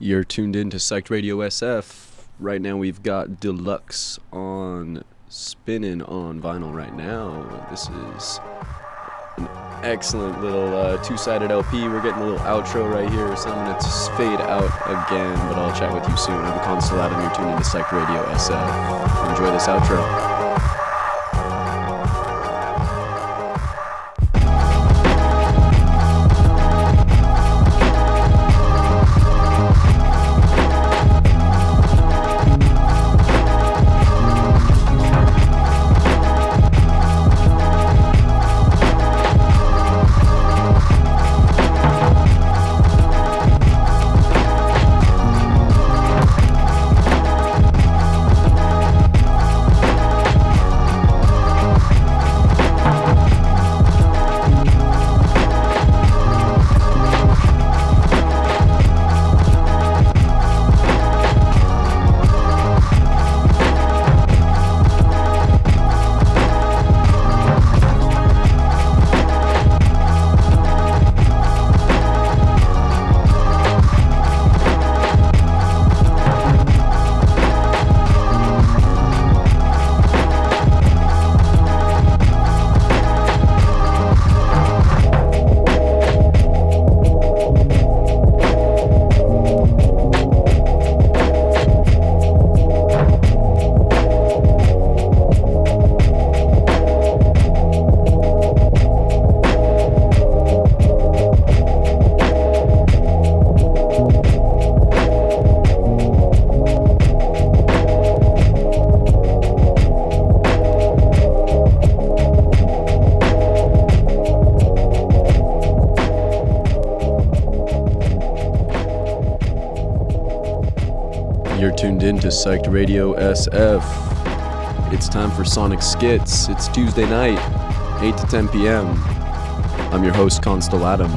You're tuned in to Psyched Radio SF. Right now we've got Deluxe on spinning on vinyl right now. This is an excellent little two-sided LP. We're getting a little outro right here, so I'm going to fade out again, but I'll chat with you soon. I'm Constellat, and you're tuned in to Psyched Radio SF. Enjoy this outro. Into Psyched Radio SF. It's time for Sonic Skits. It's Tuesday night, 8 to 10 p.m. I'm your host, Constellatum.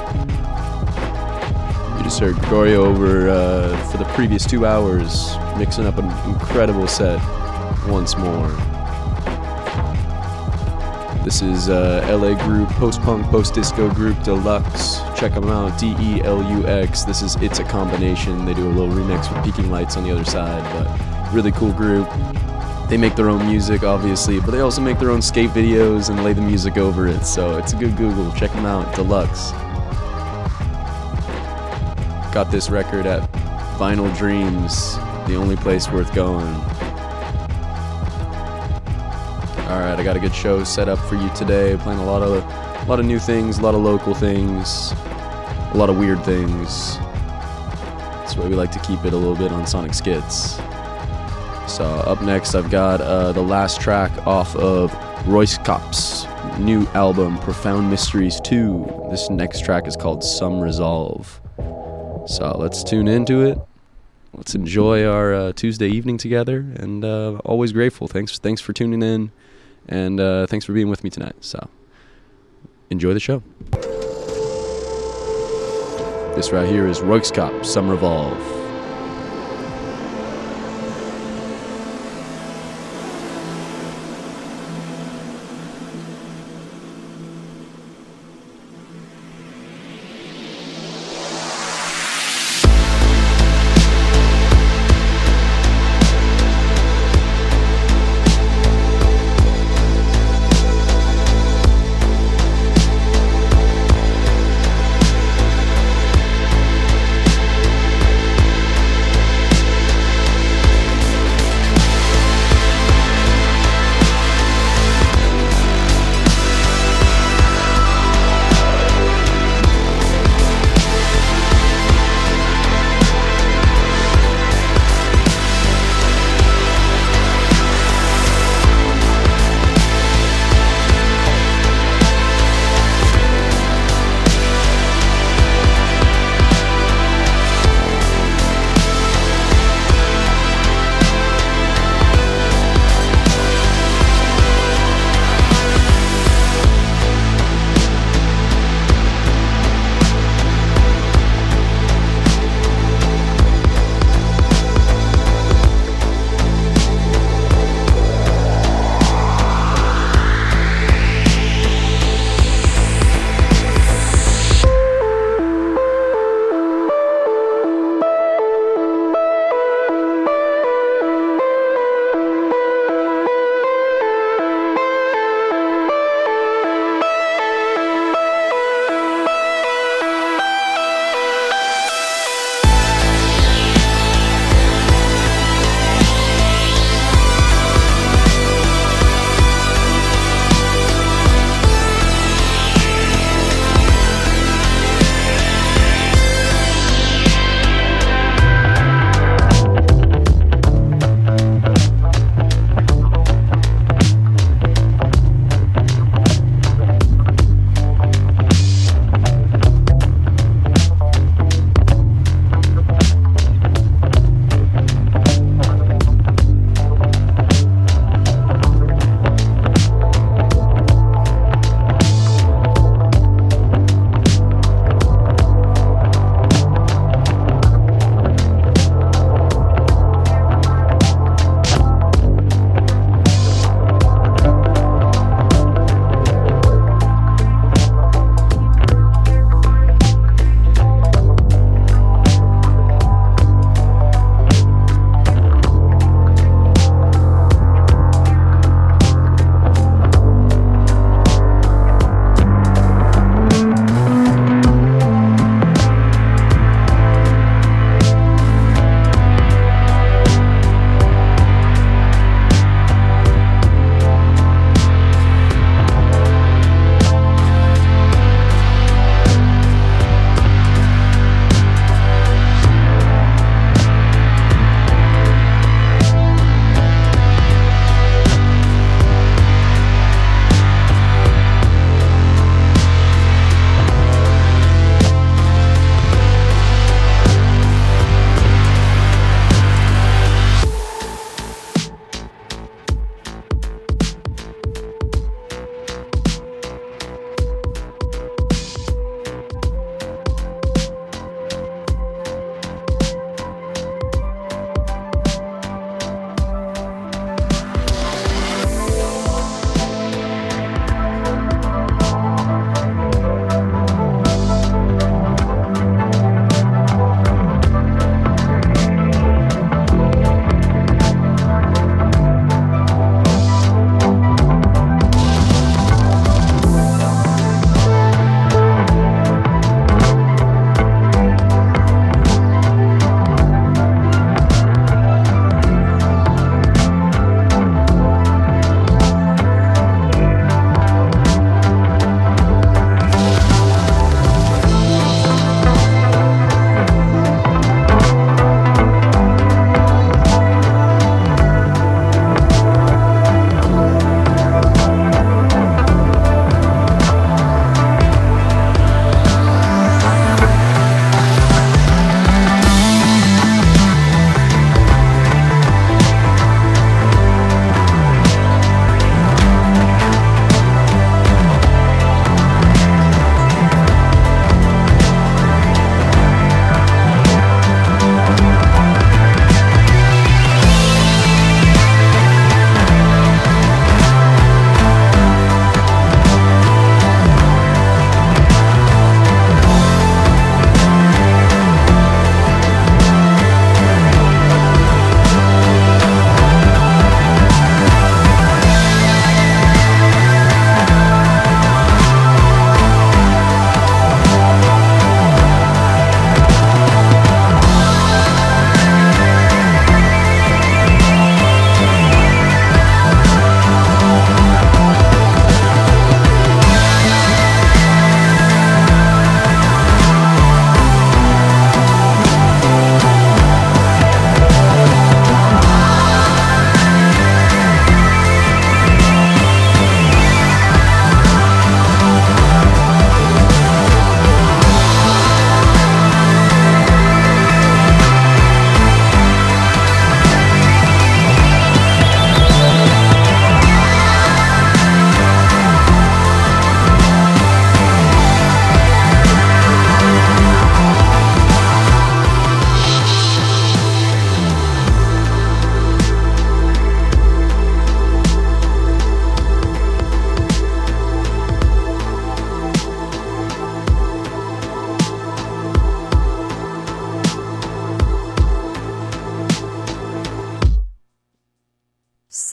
You just heard Gregorio over for the previous 2 hours, mixing up an incredible set once more. This is LA group, post-punk, post-disco group, Deluxe. Check them out, DELUX. This is It's a Combination. They do a little remix with Peaking Lights on the other side, but really cool group. They make their own music, obviously, but they also make their own skate videos and lay the music over it, so it's a good Google. Check them out, Deluxe. Got this record at Vinyl Dreams, the only place worth going. Alright, I got a good show set up for you today. Playing a lot of new things, a lot of local things, a lot of weird things. That's why we like to keep it a little bit on Sonic Skits. So up next I've got the last track off of Royce Kop's new album, Profound Mysteries 2. This next track is called Some Resolve. So let's tune into it. Let's enjoy our Tuesday evening together, and always grateful. Thanks for tuning in. And thanks for being with me tonight. So, enjoy the show. This right here is Royce Kop, Some Revolve.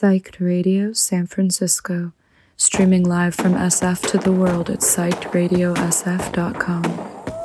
Psyched Radio San Francisco, streaming live from SF to the world at psychedradiosf.com.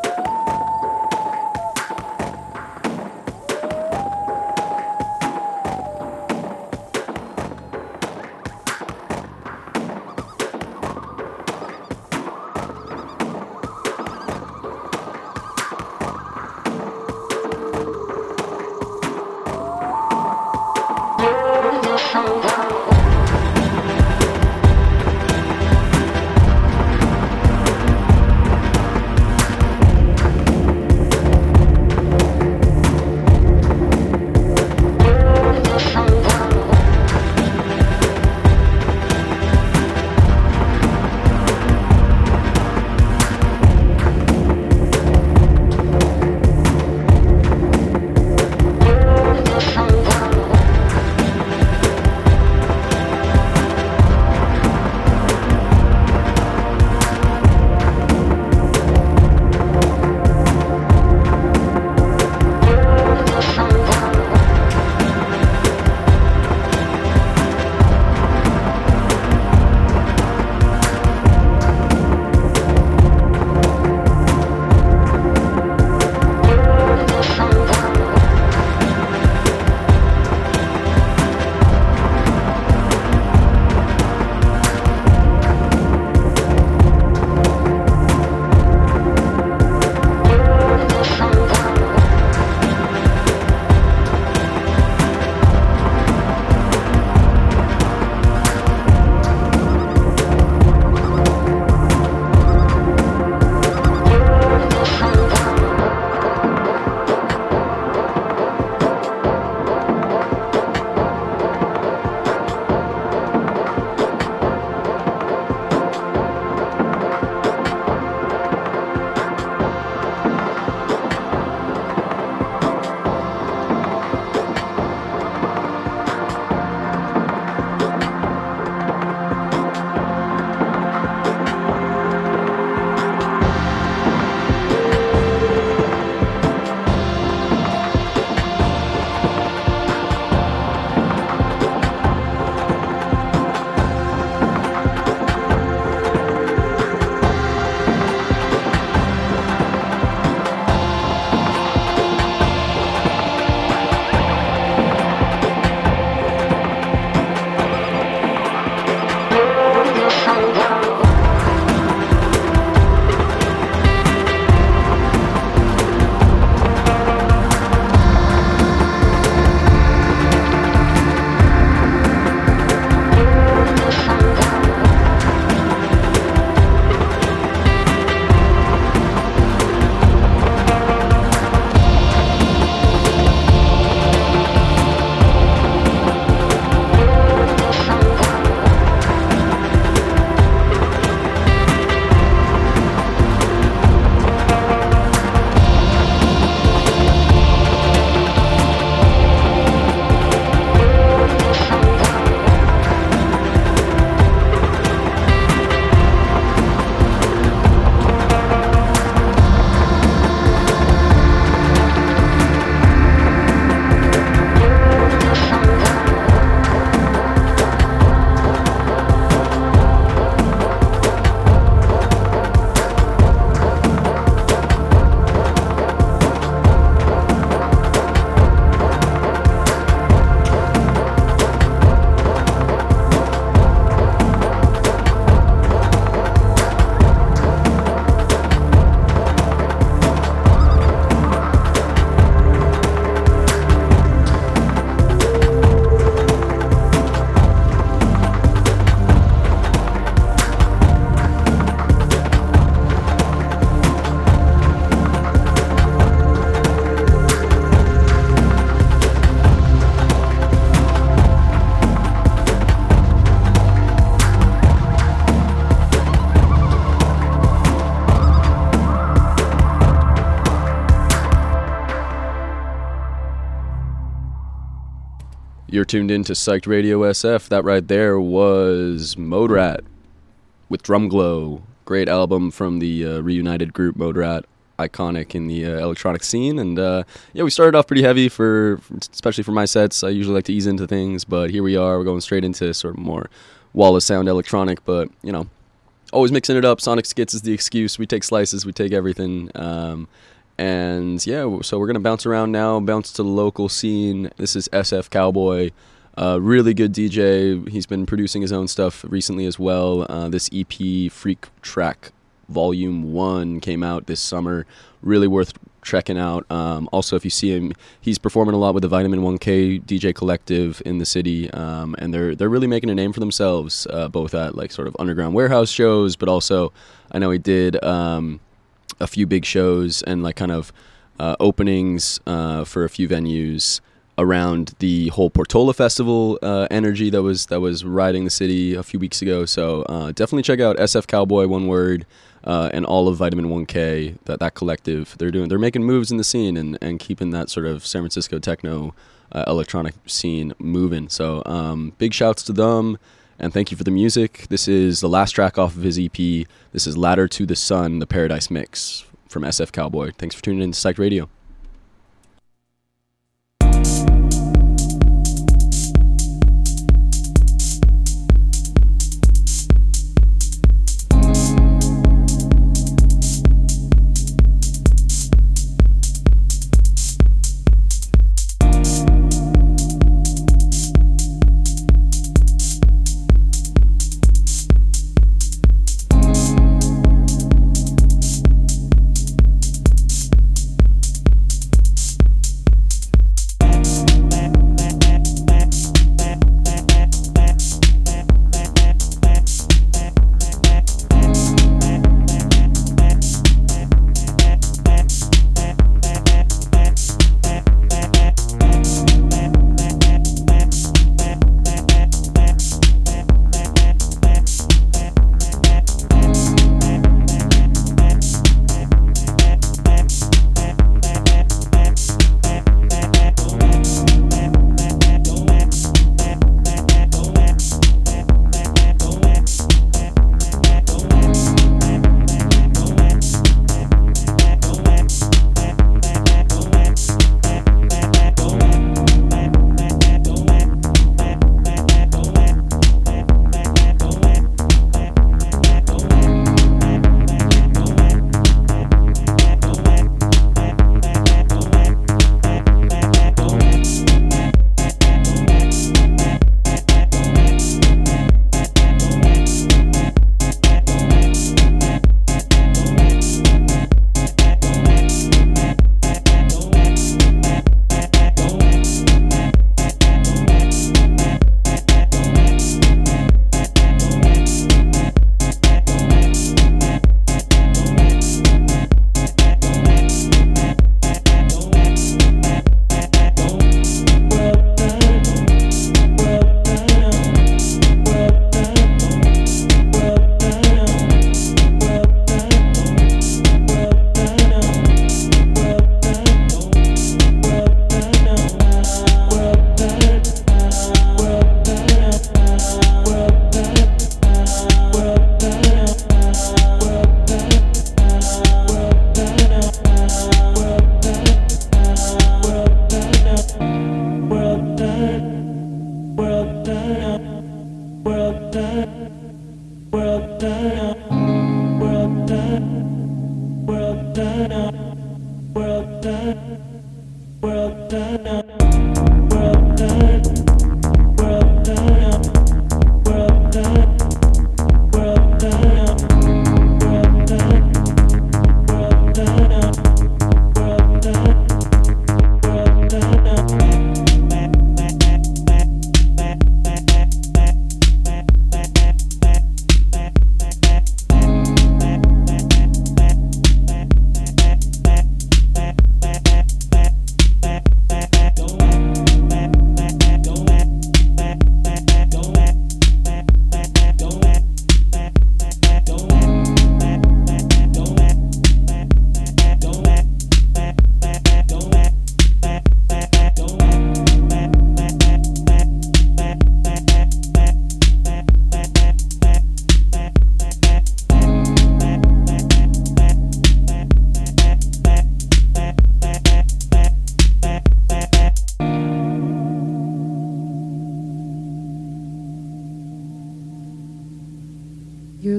You're tuned in to Psyched Radio SF. That right there was Mode Rat with Drum Glow. Great album from the reunited group Mode Rat. iconic in the electronic scene. And yeah, we started off pretty heavy especially for my sets. I usually like to ease into things, but here we are. We're going straight into sort of more wall of sound electronic, but you know, always mixing it up. Sonic Skits is the excuse. We take slices, we take everything. And yeah, so we're gonna bounce around now, bounce to the local scene. This is SF Cowboy, really good DJ. He's been producing his own stuff recently as well. This EP, Freak Track Volume 1, came out this summer. Really worth checking out. Also, if you see him, he's performing a lot with the Vitamin 1K DJ Collective in the city, and they're really making a name for themselves, both at like sort of underground warehouse shows, but also I know he did a few big shows and like kind of openings for a few venues around the whole Portola Festival energy that was riding the city a few weeks ago. So definitely check out SF Cowboy, one word, and all of Vitamin 1K, that collective. They're making moves in the scene and keeping that sort of San Francisco techno electronic scene moving. So big shouts to them. And thank you for the music. This is the last track off of his EP. This is Ladder to the Sun, the Paradise Mix from SF Cowboy. Thanks for tuning in to Psyched Radio.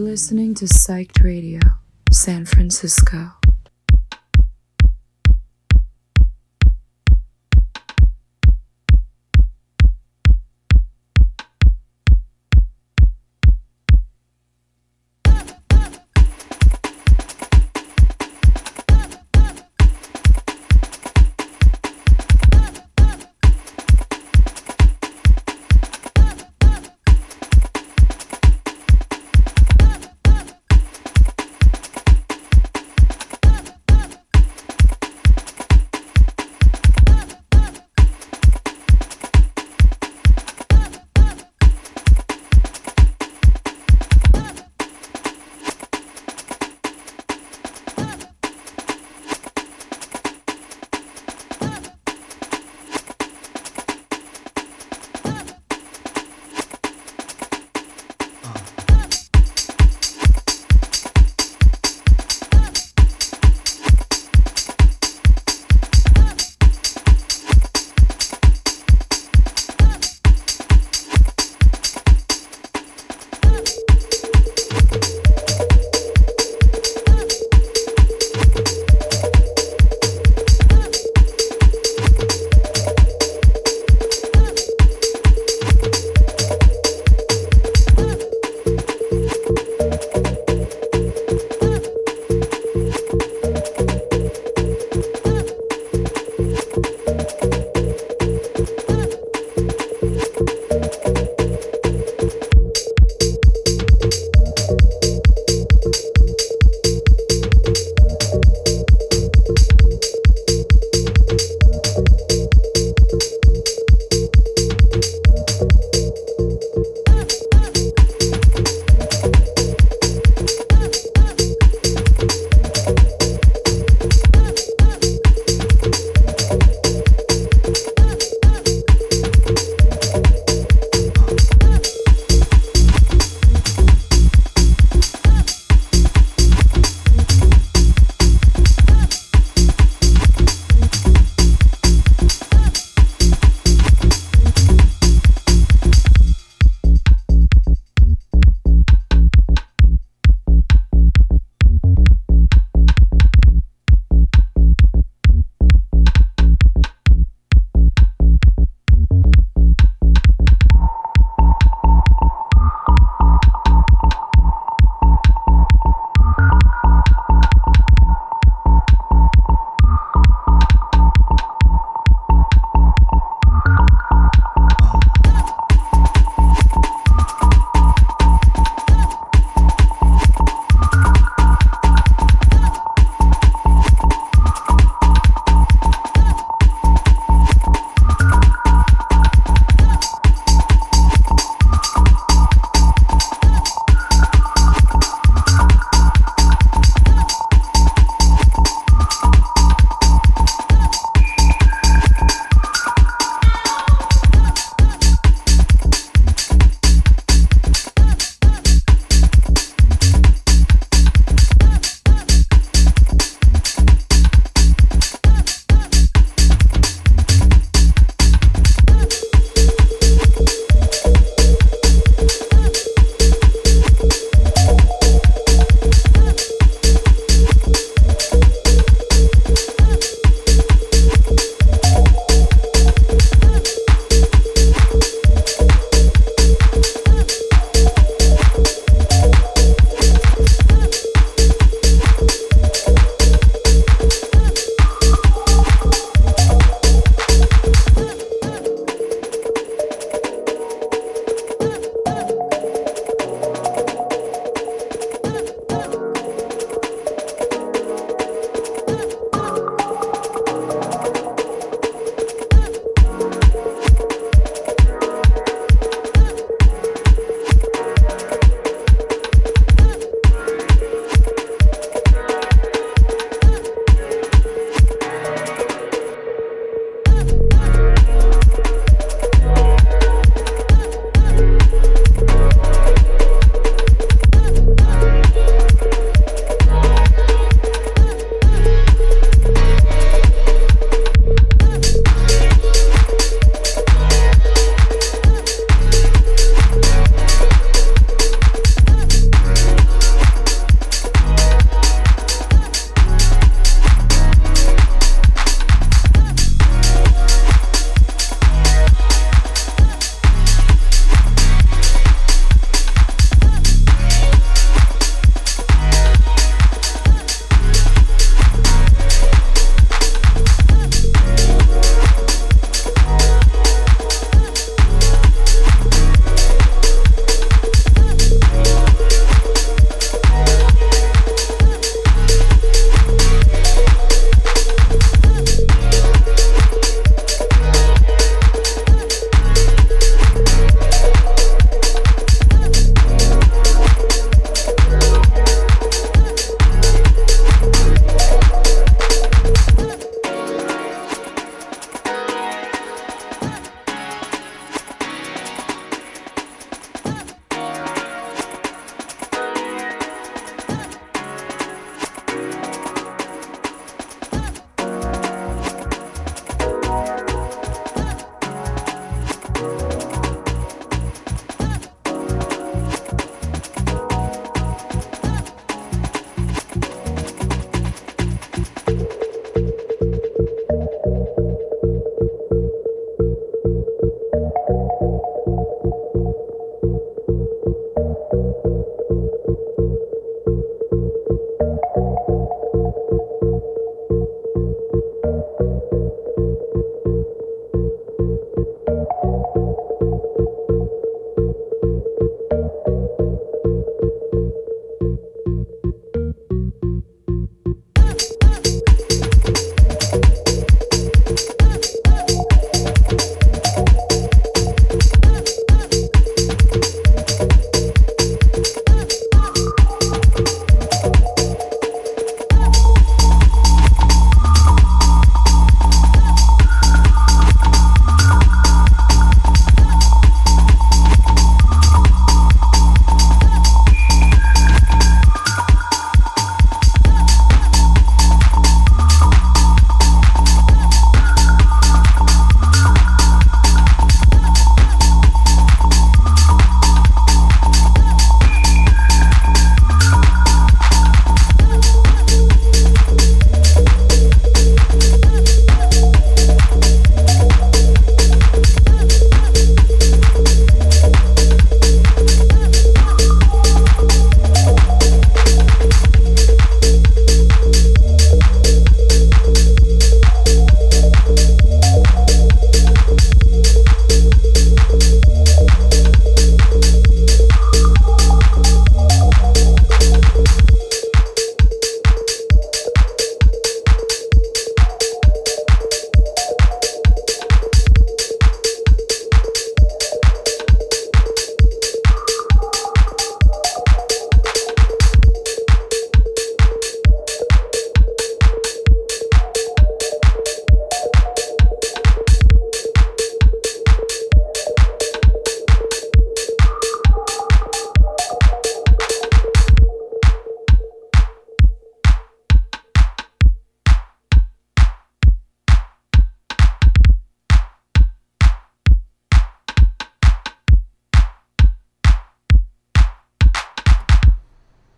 listening to Psyched Radio, San Francisco.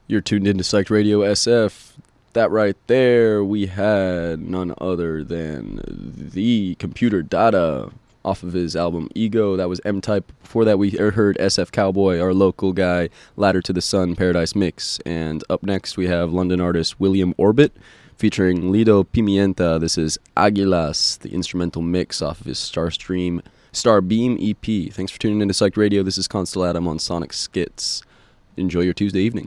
You're tuned into Psyched Radio SF. That right there, we had none other than the Computer Data off of his album Ego. That was M-Type. Before that, we heard SF Cowboy, our local guy, Ladder to the Sun, Paradise Mix. And up next, we have London artist William Orbit featuring Lido Pimienta. This is Aguilas, the instrumental mix off of his Starbeam EP. Thanks for tuning into Psyched Radio. This is Constellatum on Sonic Skits. Enjoy your Tuesday evening.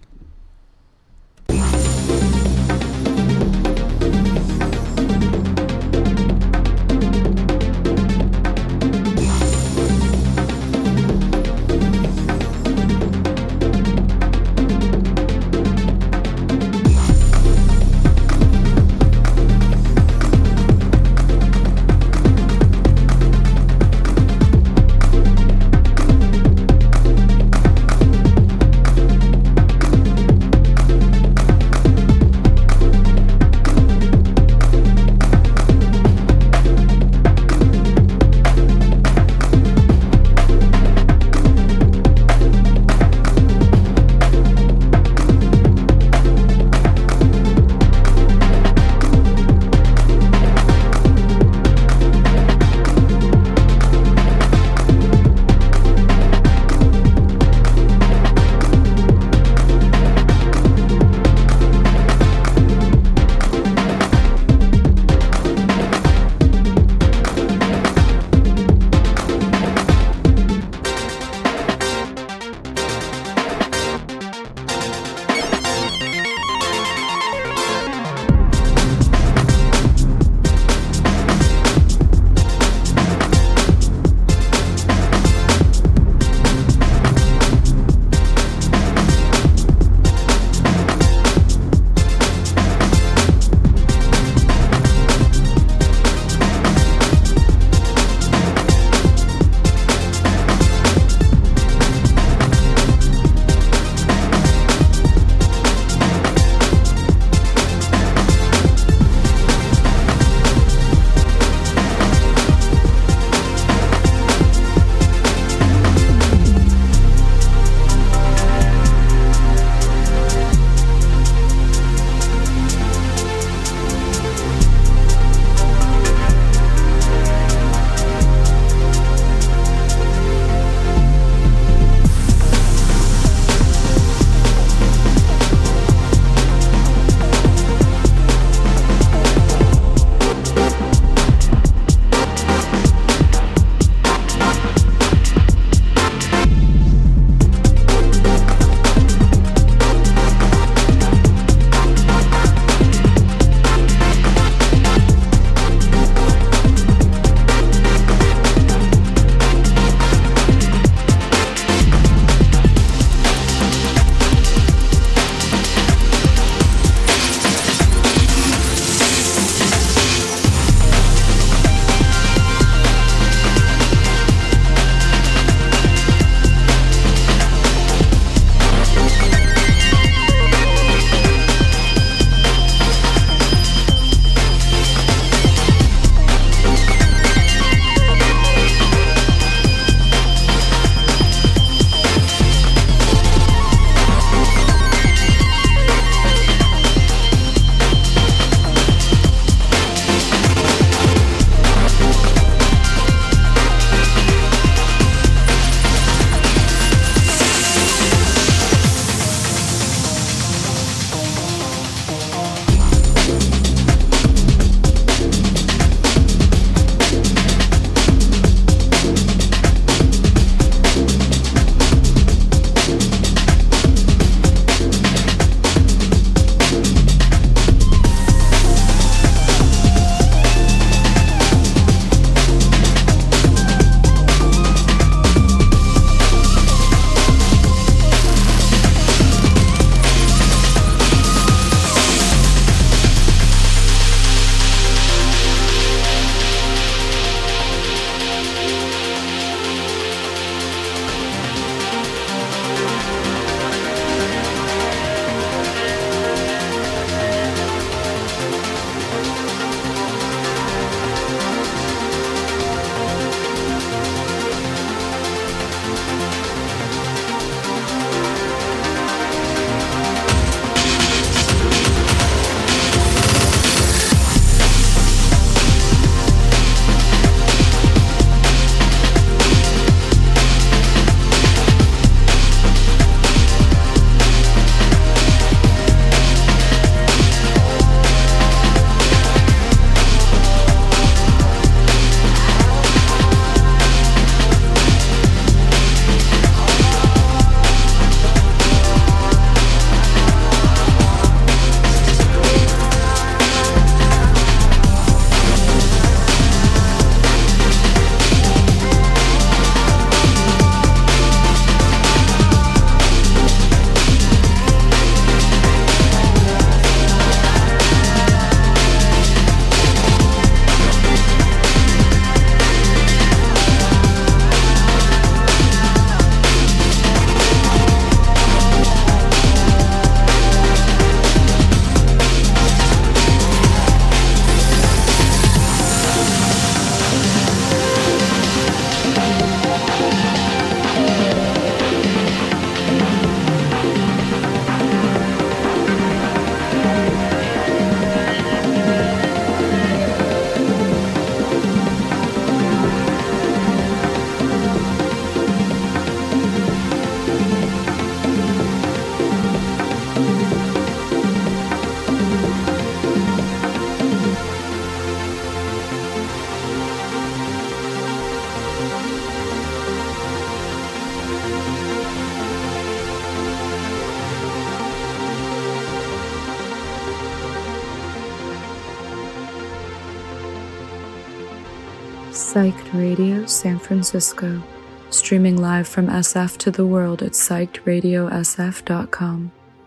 Psyched Radio San Francisco, streaming live from SF to the world at psychedradiosf.com.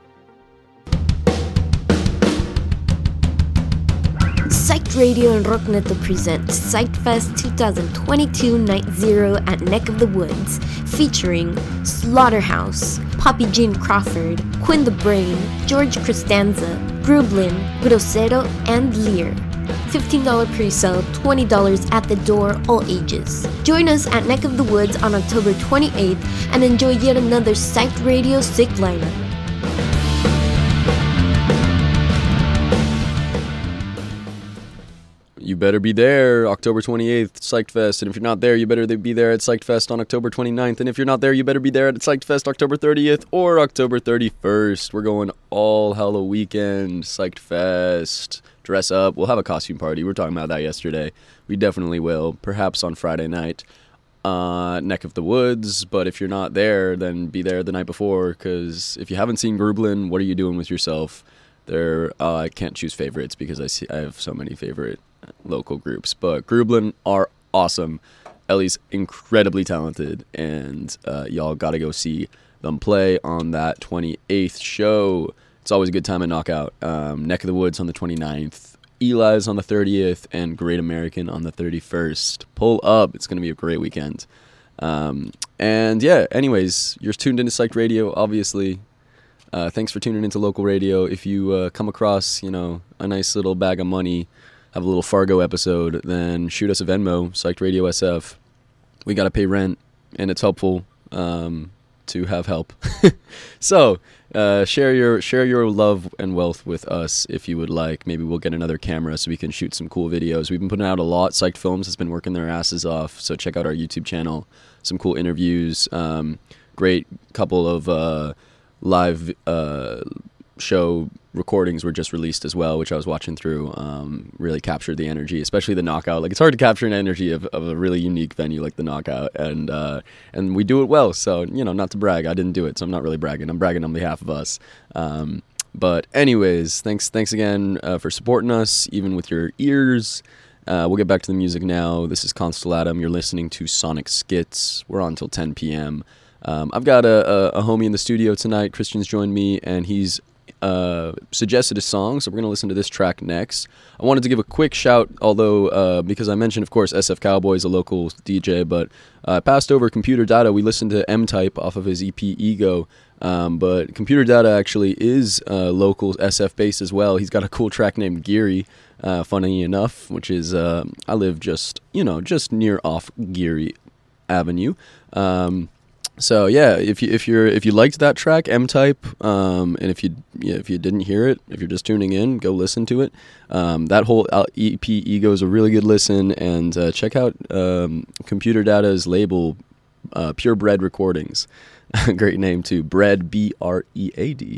Psyched Radio and Rockneto present Psyched Fest 2022 Night Zero at Neck of the Woods, featuring Slaughterhouse, Poppy Jean Crawford, Quinn the Brain, George Costanza, Grublin, Grosero, and Lear. $15 pre-sale, $20 at the door, all ages. Join us at Neck of the Woods on October 28th and enjoy yet another Psyched Radio sick lineup. You better be there, October 28th, Psyched Fest. And if you're not there, you better be there at Psyched Fest on October 29th. And if you're not there, you better be there at Psyched Fest October 30th or October 31st. We're going all Halloween weekend, Psyched Fest. Dress up. We'll have a costume party. We were talking about that yesterday. We definitely will. Perhaps on Friday night, Neck of the Woods. But if you're not there, then be there the night before. Because if you haven't seen Grublin, what are you doing with yourself? I can't choose favorites because I have so many favorite local groups, but Grublin are awesome. Ellie's incredibly talented, and y'all gotta go see them play on that 28th show. It's always a good time at Knockout. Neck of the Woods on the 29th, Eli's on the 30th, and Great American on the 31st. Pull up. It's gonna be a great weekend. And yeah, anyways, you're tuned into Psyched Radio, obviously. Thanks for tuning into local radio. If you come across, a nice little bag of money, have a little Fargo episode, then shoot us a Venmo, Psyched Radio SF. We got to pay rent, and it's helpful to have help. So share your love and wealth with us if you would like. Maybe we'll get another camera so we can shoot some cool videos. We've been putting out a lot. Psyched Films has been working their asses off, so check out our YouTube channel. Some cool interviews. Great couple of live show recordings were just released as well, which I was watching through. Really captured the energy, especially the Knockout. Like, it's hard to capture an energy of a really unique venue like the Knockout, and we do it well. So, not to brag, I didn't do it, so I'm not really bragging. I'm bragging on behalf of us. But anyways, thanks again for supporting us, even with your ears. We'll get back to the music now. This is Constellatum. You're listening to Sonic Skits. We're on until 10 p.m. I've got a homie in the studio tonight. Christian's joined me, and he's suggested a song, so we're going to listen to this track next. I wanted to give a quick shout, although because I mentioned, of course, SF Cowboy is a local DJ, but I passed over Computer Data. We listened to M-Type off of his EP Ego, but Computer Data actually is local SF based as well. He's got a cool track named Geary, funny enough, which is I live just near off Geary Avenue. So yeah, if you liked that track, M-Type, and if you didn't hear it, if you're just tuning in, go listen to it. That whole EP Ego is a really good listen, and check out Computer Data's label, Purebred Recordings. Great name too, Bread, B-R-E-A-D.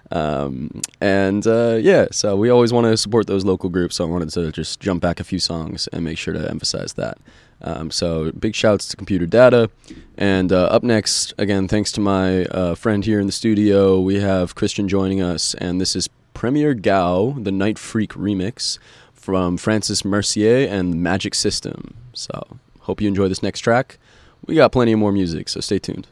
Yeah, so we always want to support those local groups, so I wanted to just jump back a few songs and make sure to emphasize that. So big shouts to Computer Data. And up next, again, thanks to my friend here in the studio, we have Christian joining us, and this is Premier Gao, the Night Freak remix from Francis Mercier and Magic System. So hope you enjoy this next track. We got plenty of more music, so stay tuned.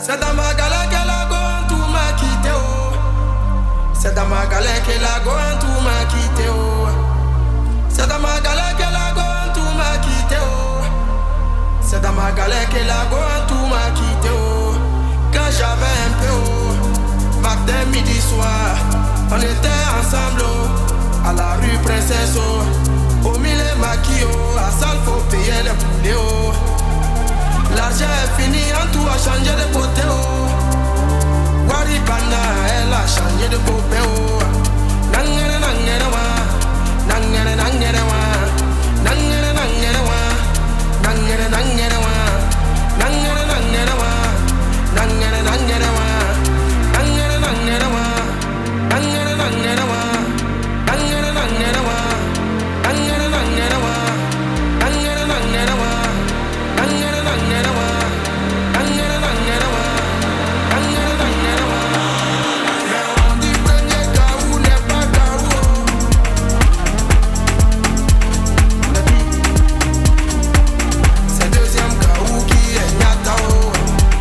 C'est dans ma galère que la gomme tout m'a quitté, oh. C'est dans ma galère que la gomme tout m'a quitté, oh. C'est dans ma galère que la gomme tout m'a quitté, oh. C'est dans ma galère que la gomme tout m'a quitté, oh. Quand j'avais un peu, oh. Matin, midi, soir, on était ensemble, oh. À la rue Princesse, oh. Au milieu maquis, oh. À salle, faut payer les poulets, oh. L'argent est fini, en tout a changé de côté, oh. Waribana, elle a changé de côté, oh. Nangere, nangere, wa. Nangere, nangere, wa. Nangere, nangere, wa. Nangere, nangere, wa. Nangere, nangere, wa. Nangere, nangere, wa. Nangere, nangere, wa. Nangere, nangere, wa. Nangere, nangere, wa. Nangere, nangere, wa. Nangere, nangere, wa. Nangere, nangere, wa. Nangere, nangere, wa. Nangere, nangere, wa. Mais on dit premier Gaou n'est pas Gaou. C'est deuxième Gaou qui est Nyatao.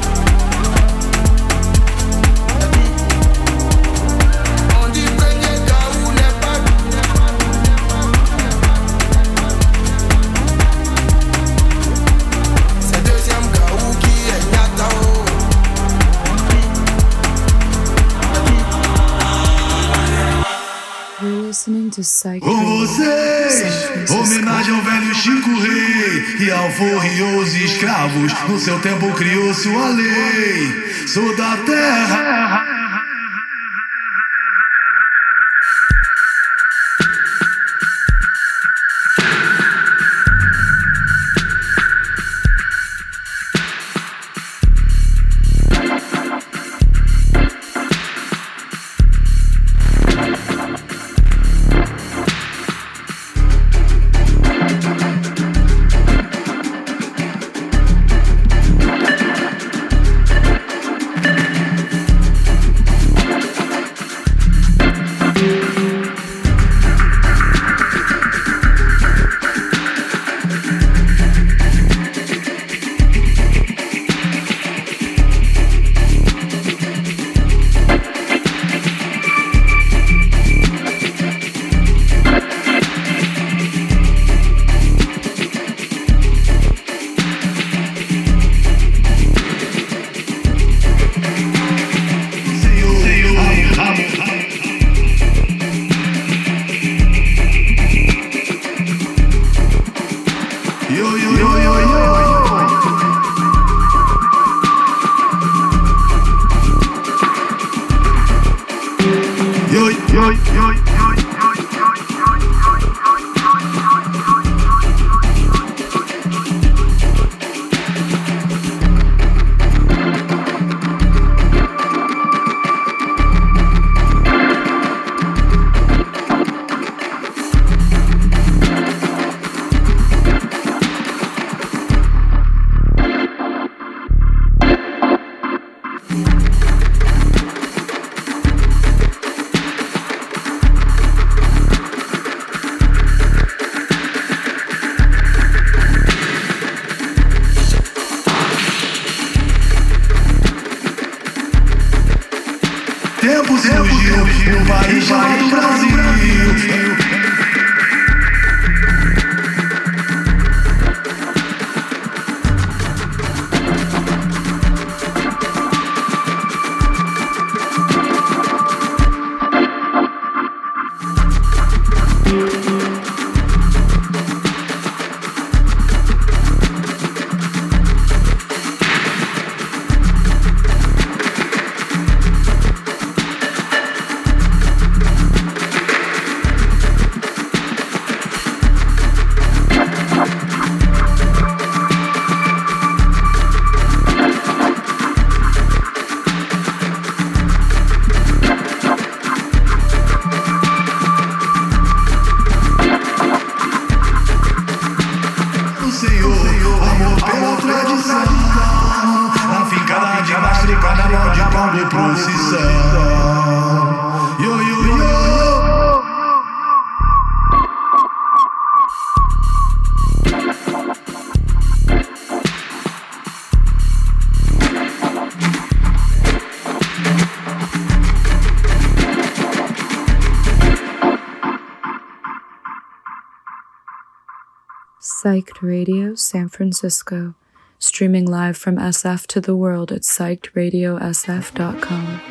On dit premier Gaou n'est pas. C'est deuxième Gaou qui est Nyatao. You're listening to Psych Com Radio, vocês, San Francisco. homenagem ao velho Chico Rei e ao forriou os escravos. No seu tempo criou sua lei. Sou da terra. Psyched Radio San Francisco, streaming live from SF to the world at psychedradiosf.com.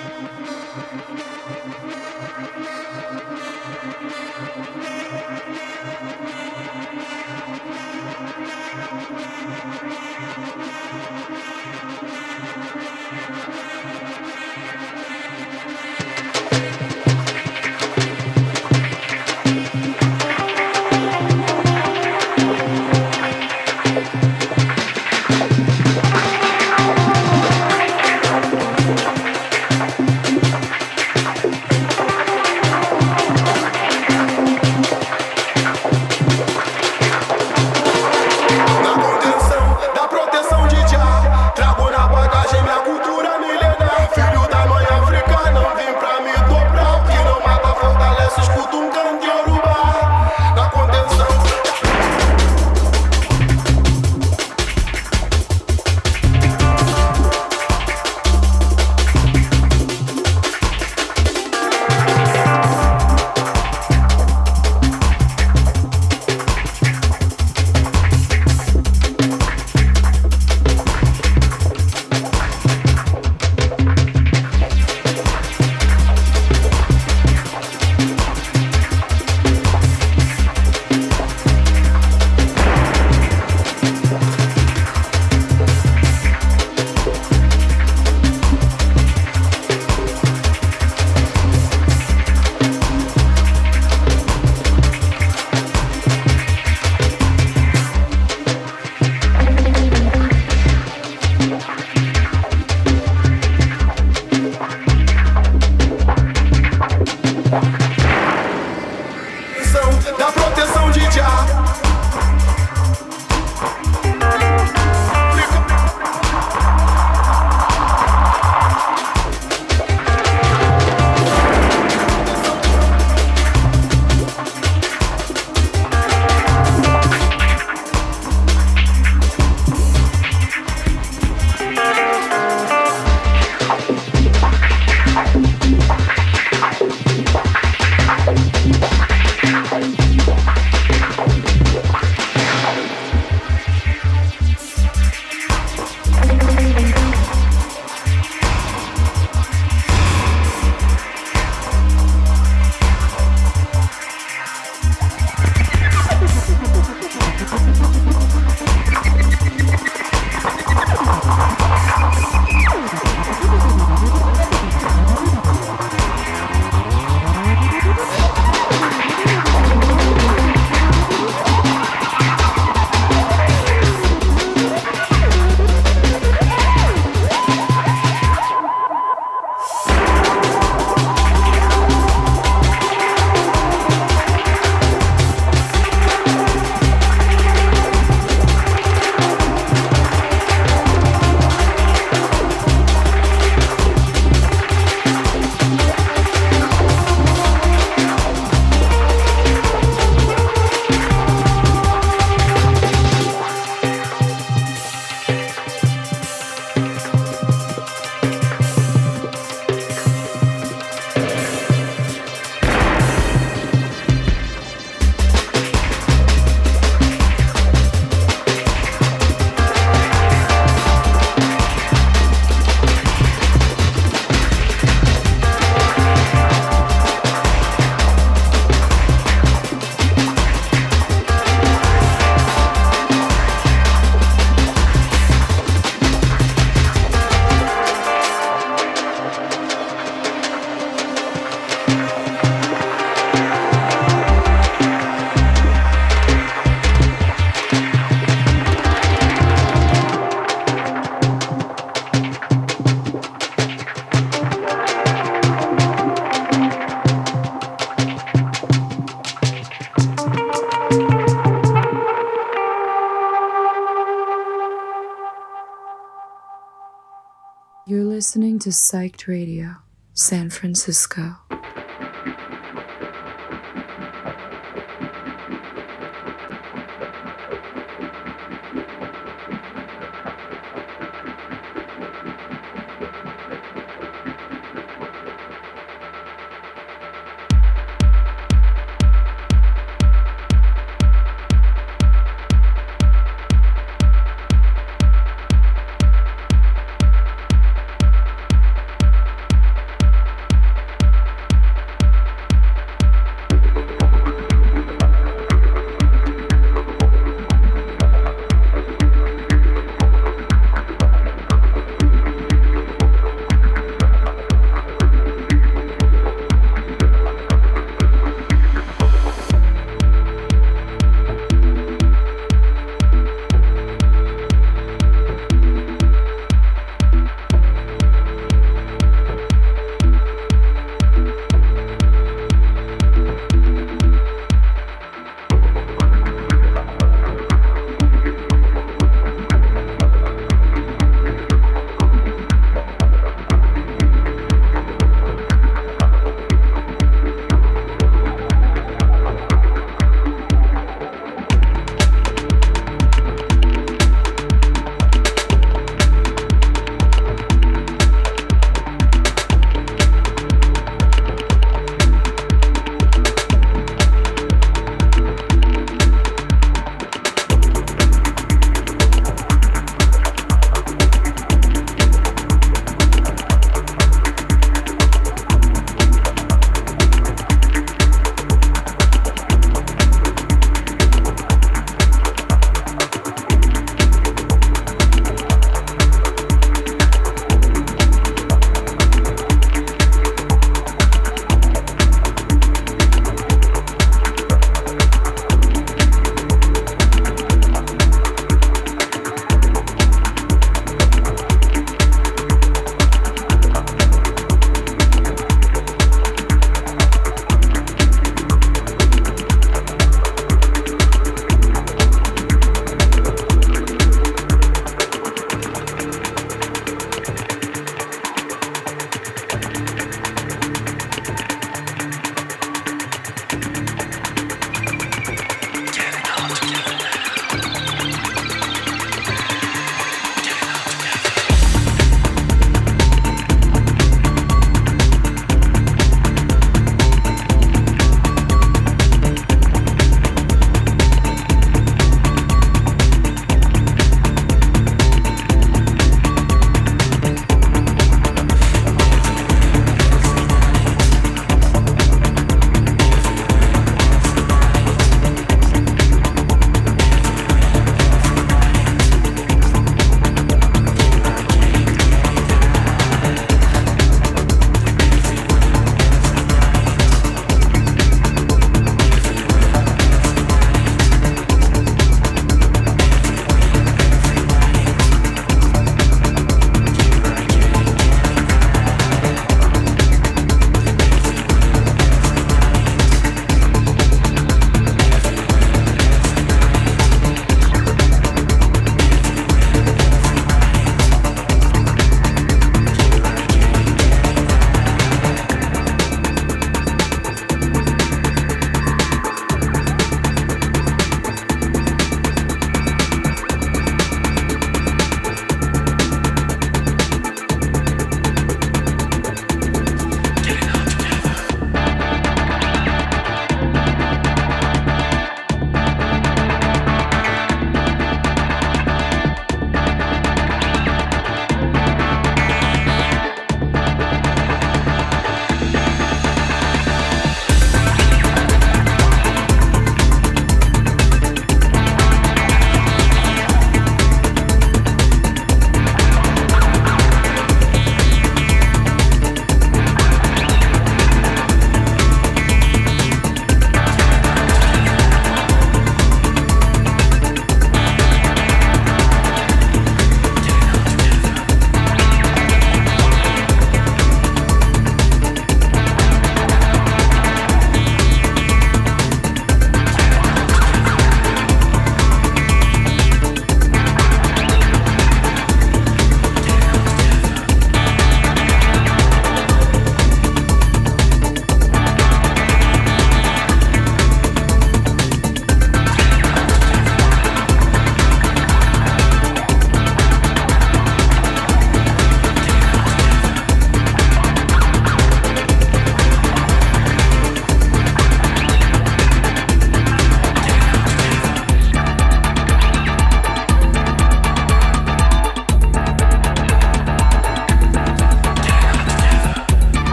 You're listening to Psyched Radio, San Francisco.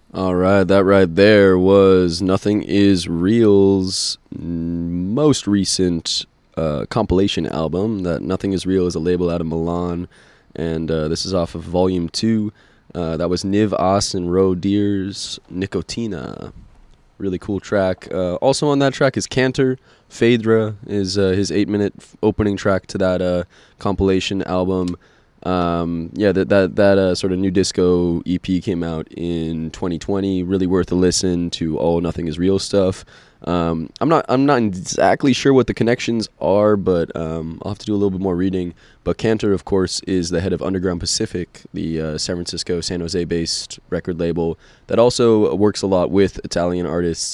All right, that right there was Nothing Is Real's most recent compilation album. That Nothing Is Real is a label out of Milan, and this is off of Volume 2. That was Niv As and Ro Deers Nicotina. Really cool track. Also on that track is Cantor. Phaedra is his 8-minute opening track to that compilation album. That sort of new disco EP came out in 2020. Really worth a listen to all Nothing Is Real stuff. I'm not exactly sure what the connections are, but I'll have to do a little bit more reading. But Cantor, of course, is the head of Underground Pacific, the San Francisco, San Jose based record label that also works a lot with Italian artists,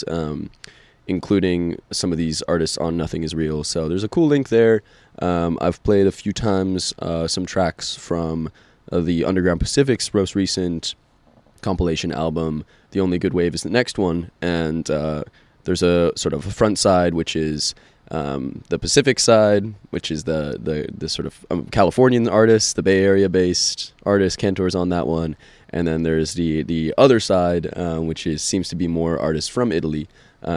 including some of these artists on Nothing Is Real. So there's a cool link there. I've played a few times some tracks from the Underground Pacific's most recent compilation album, The Only Good Wave Is the Next One, and there's a sort of a front side, which is the Pacific side, which is the sort of Californian artists, the Bay Area based artist. Cantor's on that one, and then there's the other side, which seems to be more artists from Italy,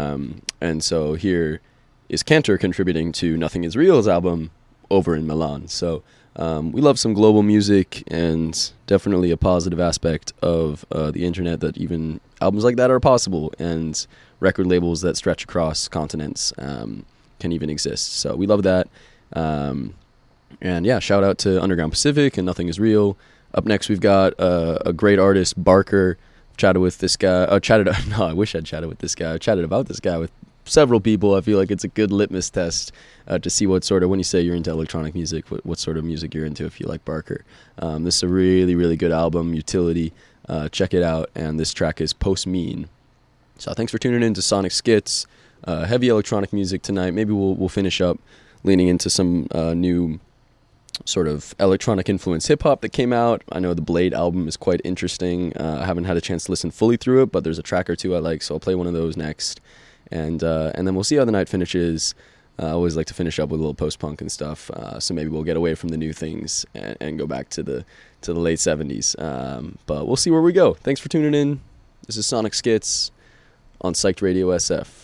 and so here is Cantor contributing to Nothing Is Real's album over in Milan. So we love some global music, and definitely a positive aspect of the internet that even albums like that are possible, and record labels that stretch across continents can even exist. So we love that. And yeah, shout out to Underground Pacific and Nothing Is Real. Up next, we've got a great artist, Barker. Chatted with this guy. I wish I'd chatted with this guy. I chatted about this guy with several people. I feel like it's a good litmus test to see what sort of, when you say you're into electronic music, what sort of music you're into if you like Barker. This is a really, really good album, Utility. Check it out. And this track is Post Mean. So thanks for tuning in to Sonic Skits. Heavy electronic music tonight. Maybe we'll finish up leaning into some new sort of electronic influence hip-hop that came out. I know the Blade album is quite interesting. I haven't had a chance to listen fully through it, but there's a track or two I like, so I'll play one of those next. And then we'll see how the night finishes. I always like to finish up with a little post-punk and stuff, so maybe we'll get away from the new things and go back to the late 70s. But we'll see where we go. Thanks for tuning in. This is Sonic Skits on Psyched Radio SF.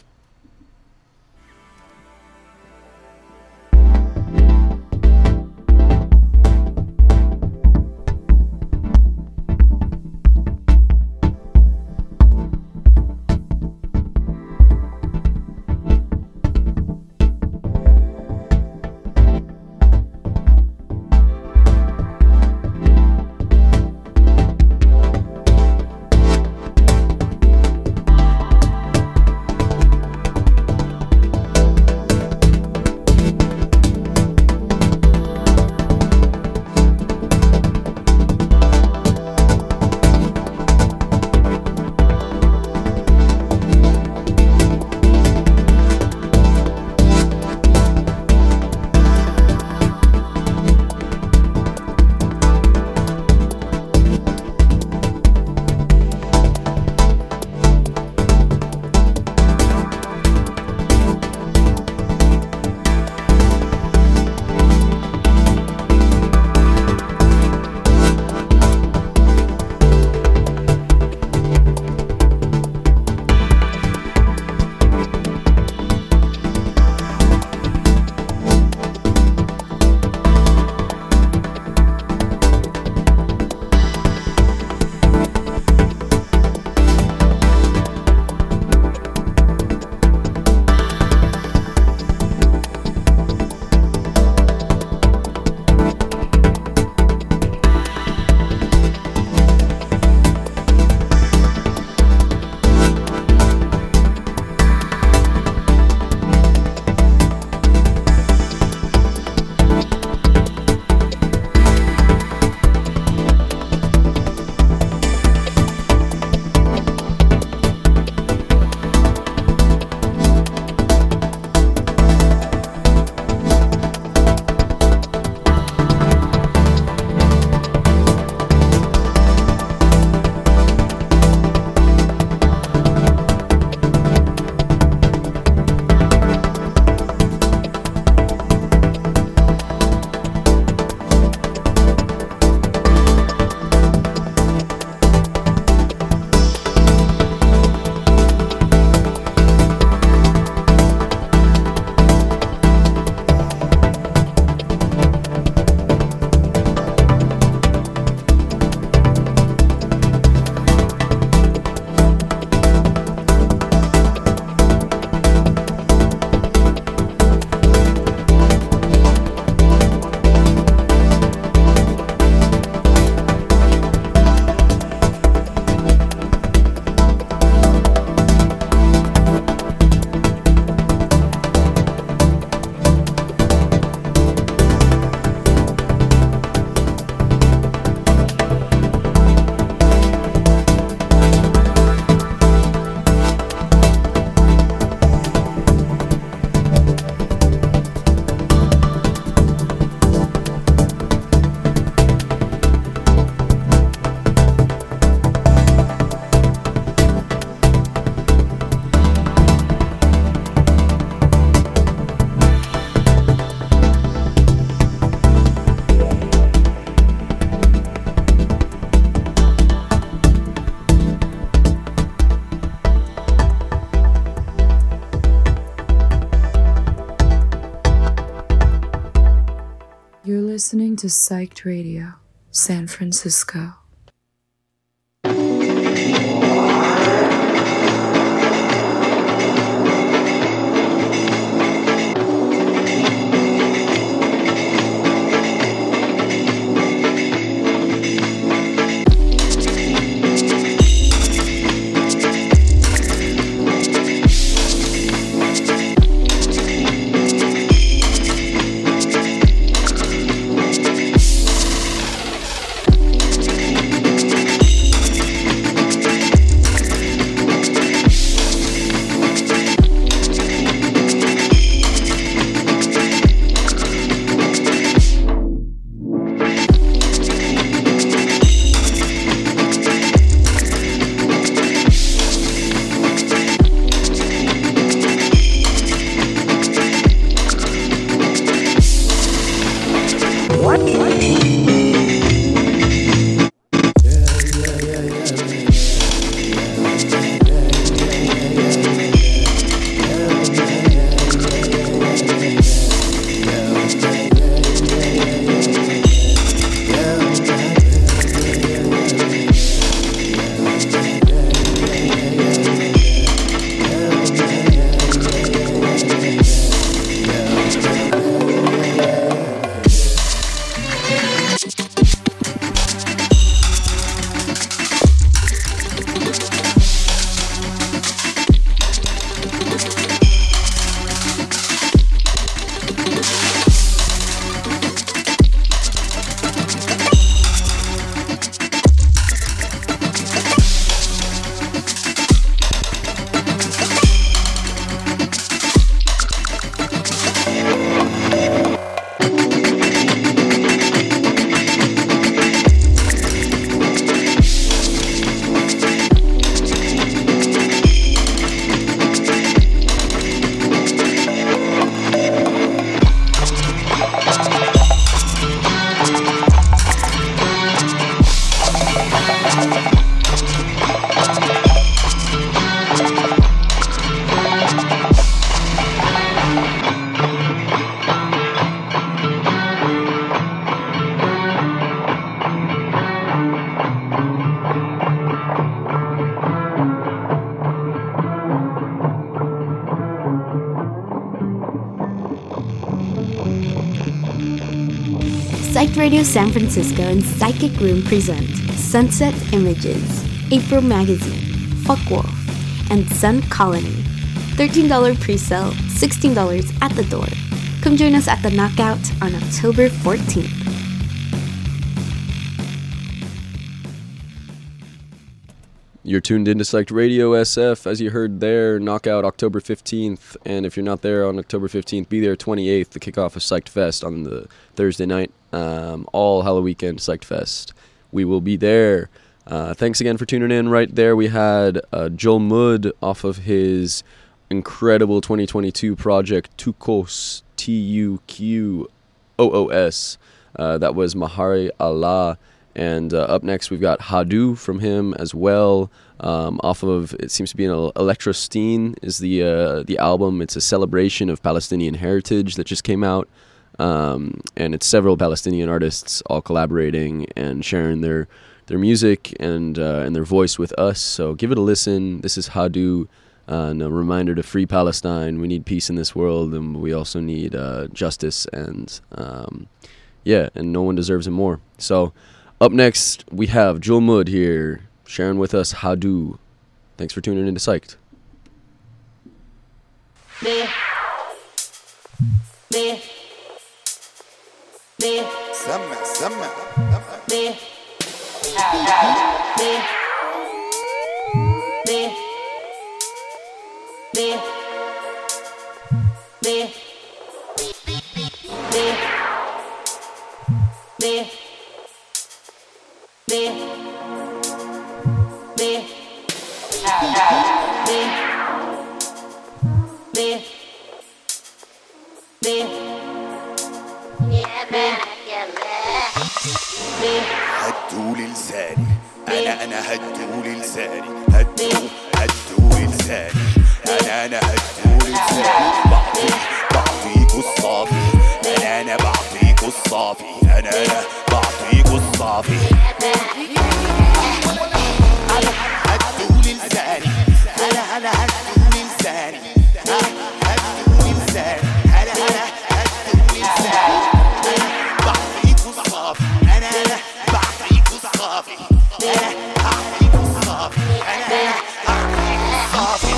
listening to Psyched Radio, San Francisco. Psyched Radio San Francisco and Psychic Room present Sunset Images, April Magazine, Fuckwolf, and Sun Colony. $13 pre-sale, $16 at the door. Come join us at the Knockout on October 14th. You're tuned into Psyched Radio SF, as you heard there, Knockout October 15th, and if you're not there on October 15th, be there 28th, the kickoff of Psyched Fest on the Thursday night, all Halloween weekend Psyched Fest. We will be there. Thanks again for tuning in. Right there we had Joel Mudd off of his incredible 2022 project, Tuqos, Tuqoos. That was Mahari Allah. And up next, we've got Hadu from him as well. Off of, it seems to be an Electrosteen is the album. It's a celebration of Palestinian heritage that just came out. And it's several Palestinian artists all collaborating and sharing their music and their voice with us. So give it a listen. This is Hadu. And a reminder to free Palestine. We need peace in this world, and we also need justice. And and no one deserves it more. So up next, we have Joel Mudd here, sharing with us Hadu. Thanks for tuning in to Psyched. هدوا لساني انا هدوا لساني هدوا لساني انا هدوا لساني بعطيك الصافي انا بعطيك بعطيكوا الصافي أنا بعطيكوا الصافي هدولي لساني أنا هدولي لساني هدولي لساني أنا هدولي لساني بعطيكوا الصافي أنا بعطيكوا الصافي أنا هعطيكوا الصافي أنا هعطيكوا الصافي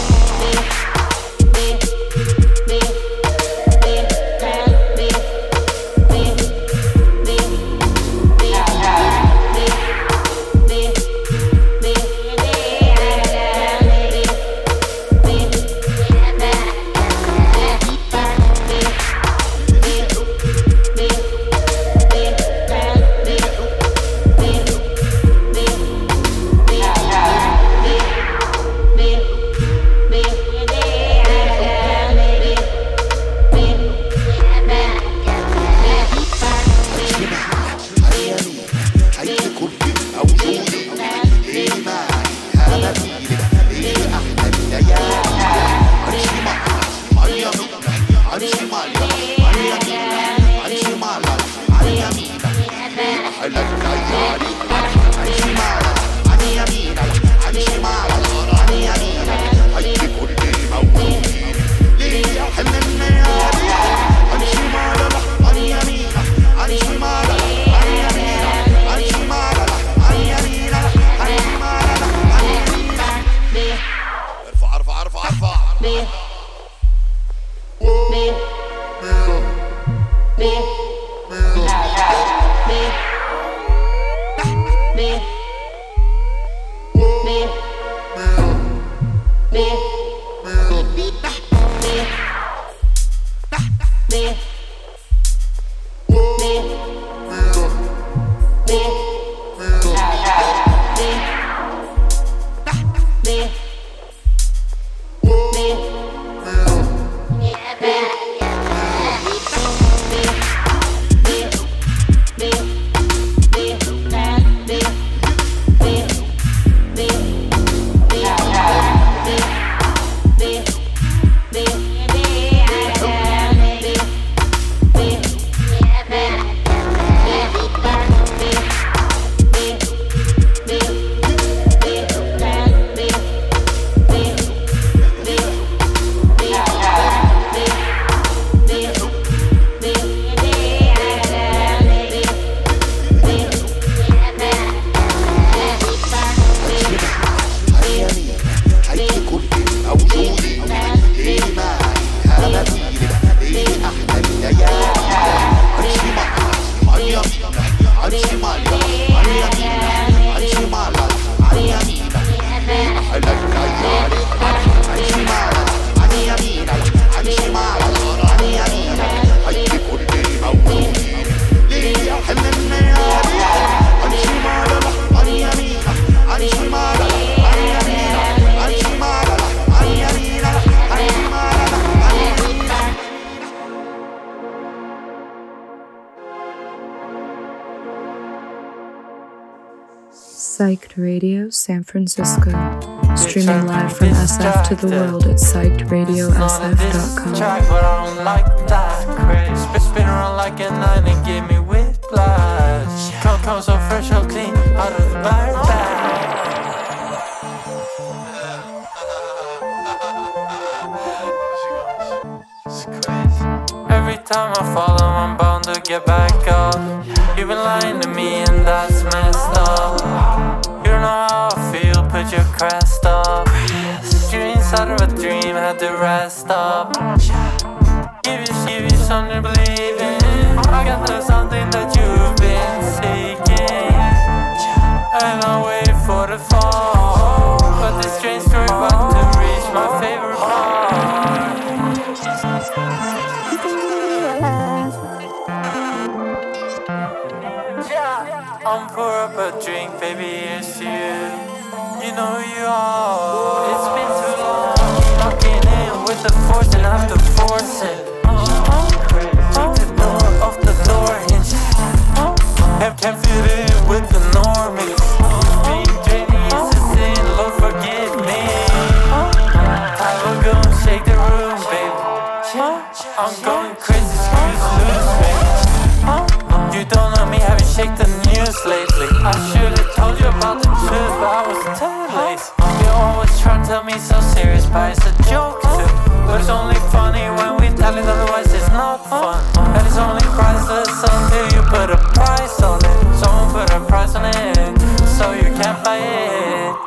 Psyched Radio San Francisco. Streaming live from SF to the world at psychedradiosf.com. But I don't like that craze. Spin around like a 9 and give me whiplash. Come so fresh, so clean, out of the bag. Every time I fall, I'm bound to get back up. You've been lying to me and that's messed up. You don't know how I feel, put your crest up. You're inside of a dream, had to rest up. Give you something to believe in. I got the something that you've been seeking. And I wait for the fall. But this strange story about to reach my favorite part. I'm pour up a drink, baby, it's you. You know who you are. It's been too long, locking in with the force and I have to force it. Take the door off the door hinge. Can't fit in with the normies. Being draining is a sin, Lord forgive me. I will go and shake the room, baby. I'm going crazy, screws loose, baby. check the news lately. I should've told you about the truth, but I was too lazy. You always try to tell me so serious, but it's a joke too. But it's only funny when we tell it, otherwise it's not fun. And it's only priceless until you put a price on it. Someone put a price on it, so you can't buy it.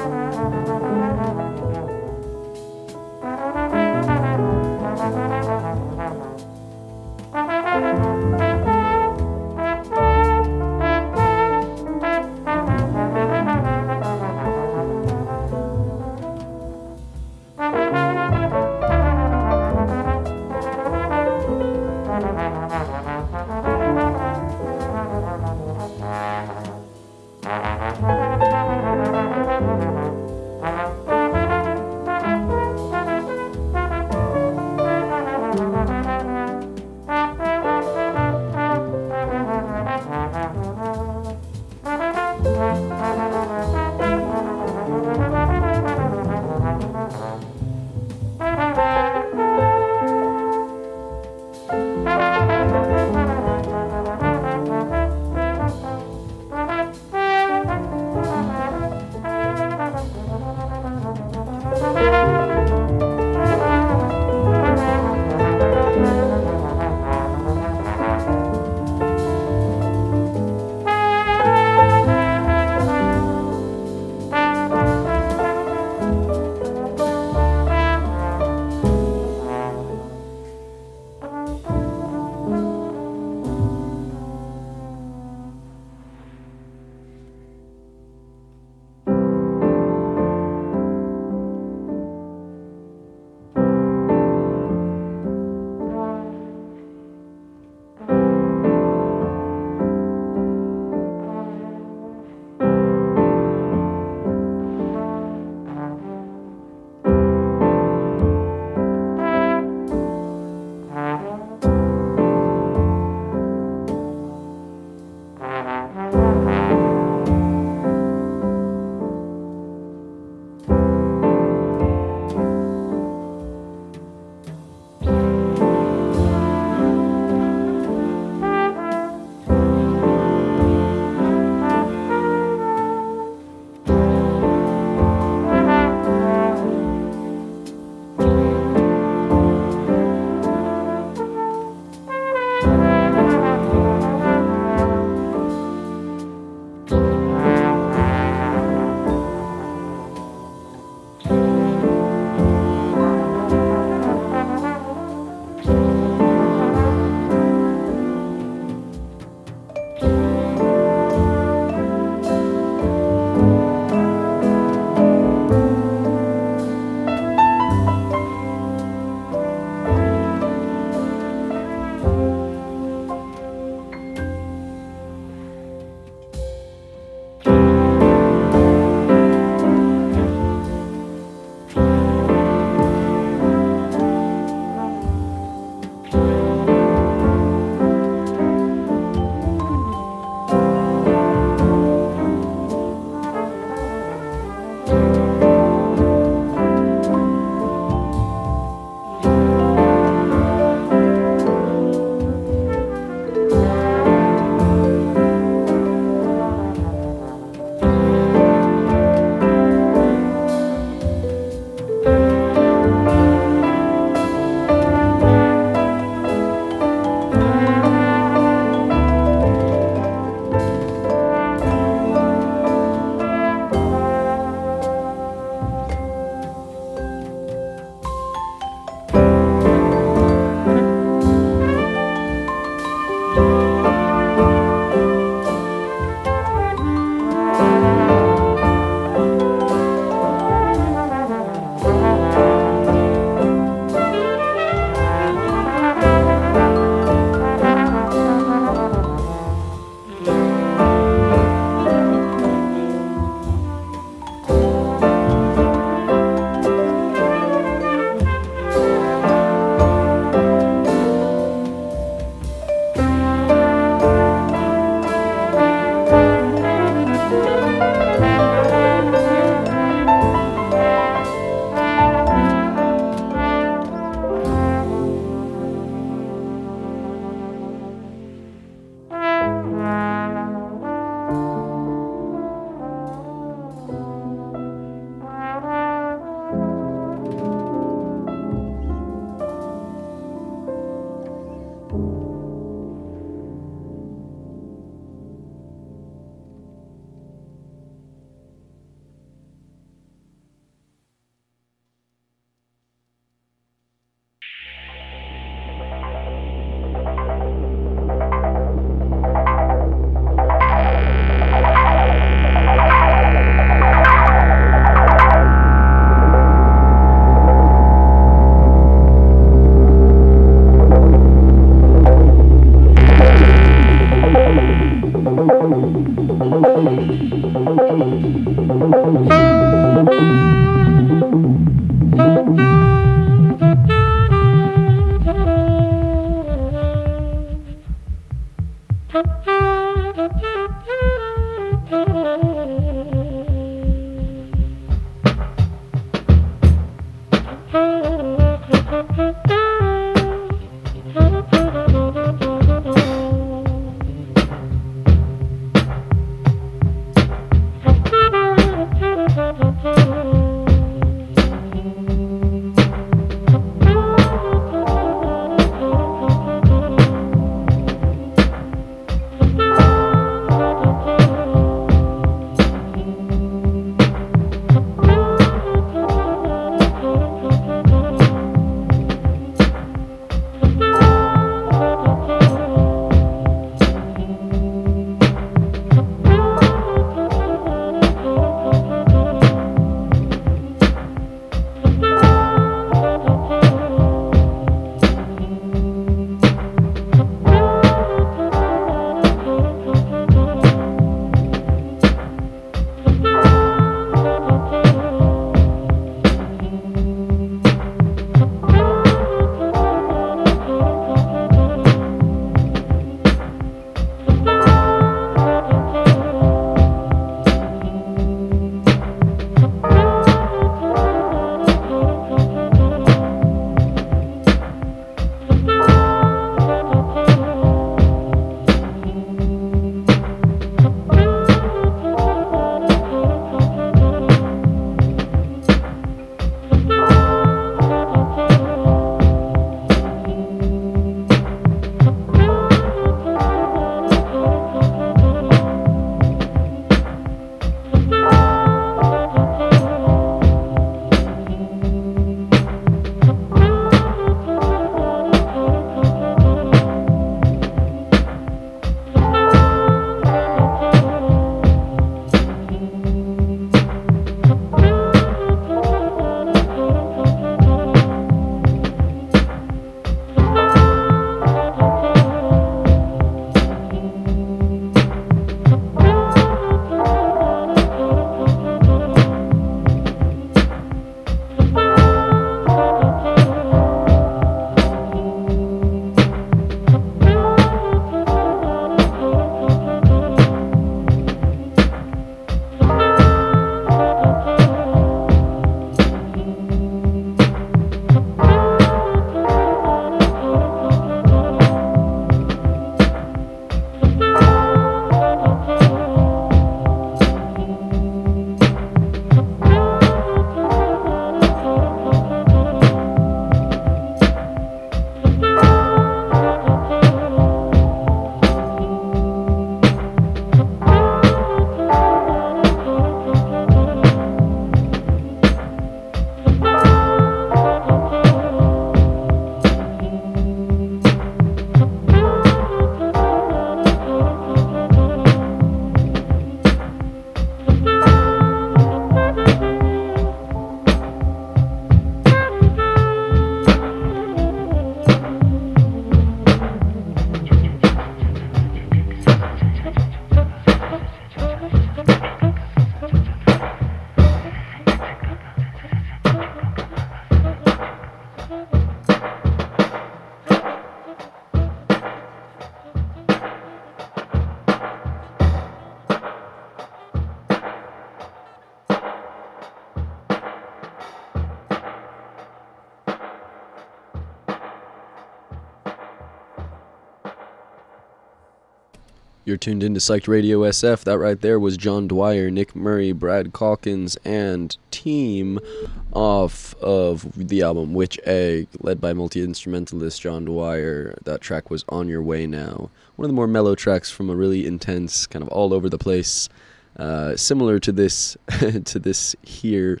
You're tuned into Psyched Radio SF. That right there was John Dwyer, Nick Murray, Brad Calkins, and team off of the album Witch Egg, led by multi-instrumentalist John Dwyer. That track was On Your Way Now. One of the more mellow tracks from a really intense, kind of all over the place, similar to this to this here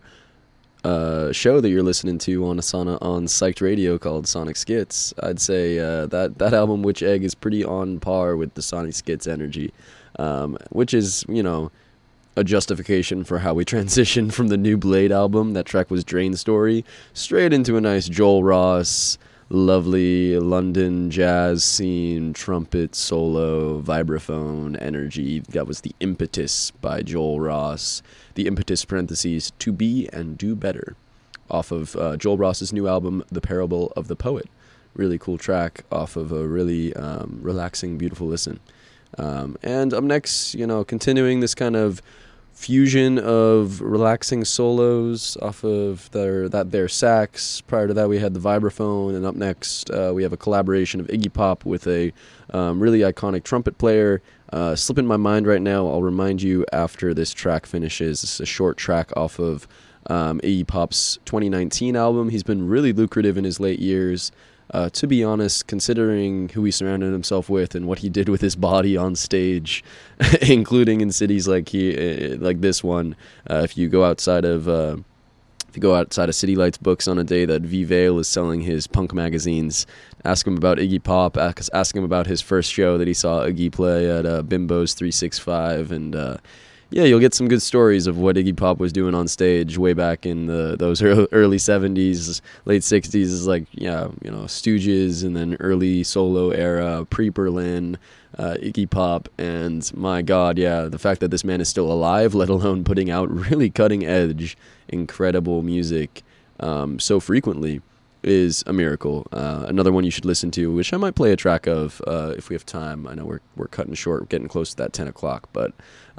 show that you're listening to on Psyched Radio called Sonic Skits. I'd say that album Witch Egg is pretty on par with the Sonic Skits energy, which is, you know, a justification for how we transitioned from the new Blade album. That track was Drain Story, straight into a nice Joel Ross, lovely London jazz scene, trumpet solo, vibraphone energy. That was The Impetus by Joel Ross. The Impetus parentheses, To Be and Do Better, off of Joel Ross's new album, The Parable of the Poet. Really cool track off of a really relaxing, beautiful listen. And up next, you know, continuing this kind of fusion of relaxing solos off of their sax. Prior to that, we had the vibraphone, and up next, we have a collaboration of Iggy Pop with a really iconic trumpet player. Slipping my mind right now. I'll remind you after this track finishes. This is a short track off of Iggy Pop's 2019 album. He's been really lucrative in his late years. To be honest, considering who he surrounded himself with and what he did with his body on stage, including in cities like this one, if you go outside of City Lights Books on a day that V Vale is selling his punk magazines, ask him about Iggy Pop, ask him about his first show that he saw Iggy play at Bimbo's 365, and yeah, you'll get some good stories of what Iggy Pop was doing on stage way back in those early 70s, late 60s, is like, yeah, you know, Stooges, and then early solo era, pre-Berlin, Iggy Pop, and my God, yeah, the fact that this man is still alive, let alone putting out really cutting-edge, incredible music so frequently, is a miracle. Another one you should listen to, which I might play a track of if we have time. I know we're cutting short, we're getting close to that 10 o'clock, but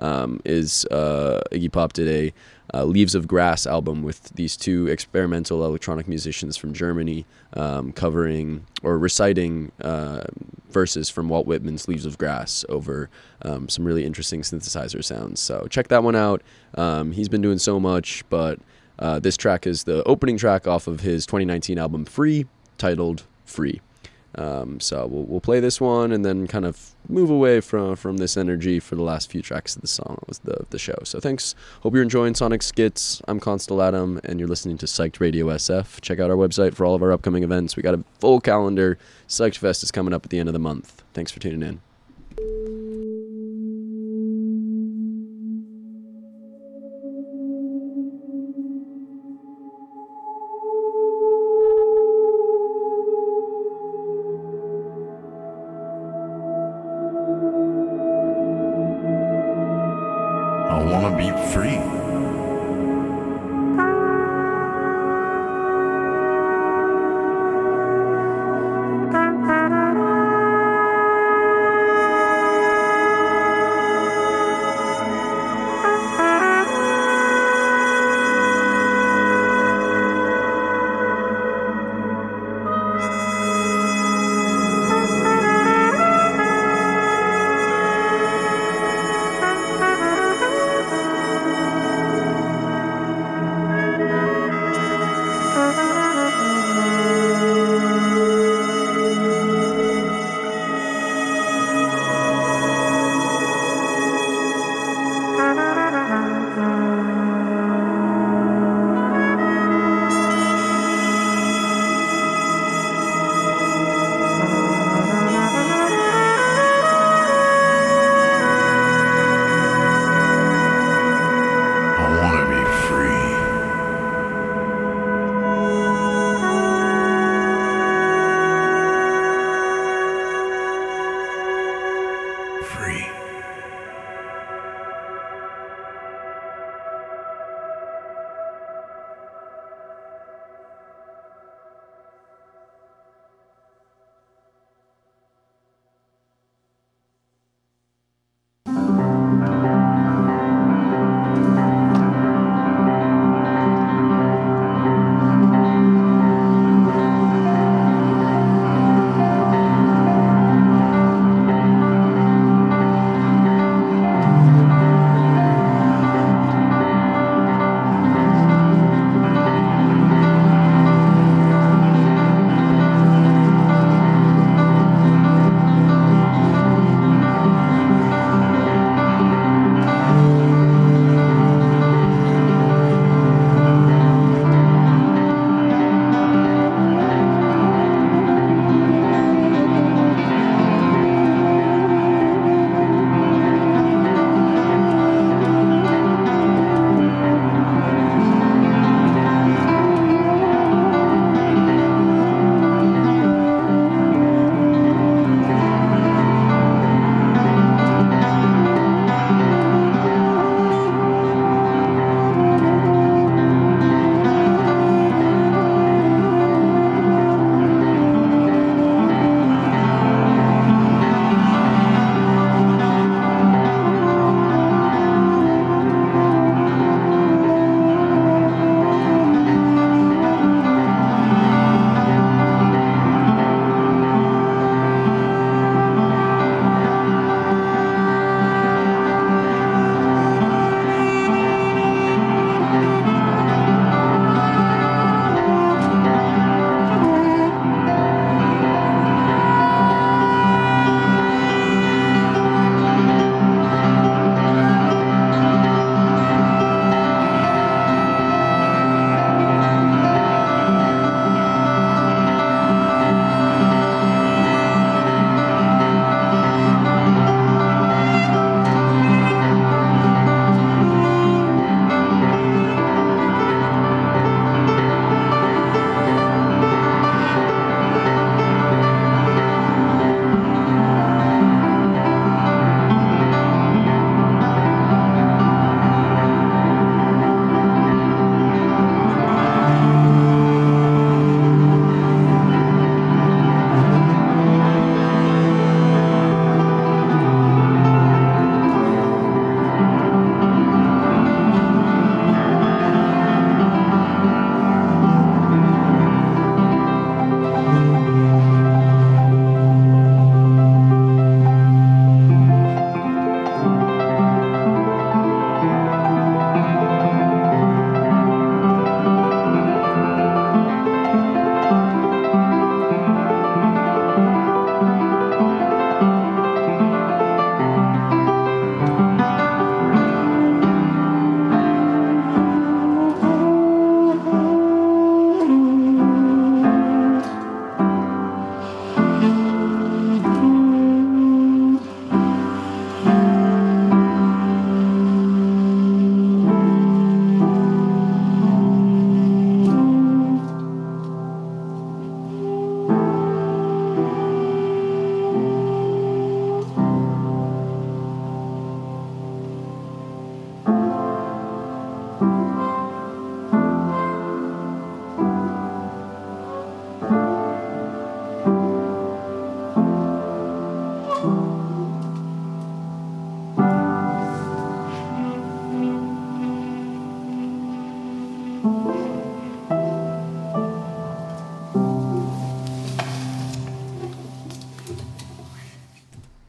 is Iggy Pop did a Leaves of Grass album with these two experimental electronic musicians from Germany, covering or reciting verses from Walt Whitman's Leaves of Grass over some really interesting synthesizer sounds. So check that one out. He's been doing so much, but this track is the opening track off of his 2019 album Free, titled Free. So we'll play this one and then kind of move away from this energy for the last few tracks of the song, the show. So thanks. Hope you're enjoying Sonic Skits. I'm Constel Adam, and you're listening to Psyched Radio SF. Check out our website for all of our upcoming events. We got a full calendar. Psyched Fest is coming up at the end of the month. Thanks for tuning in. I wanna be free.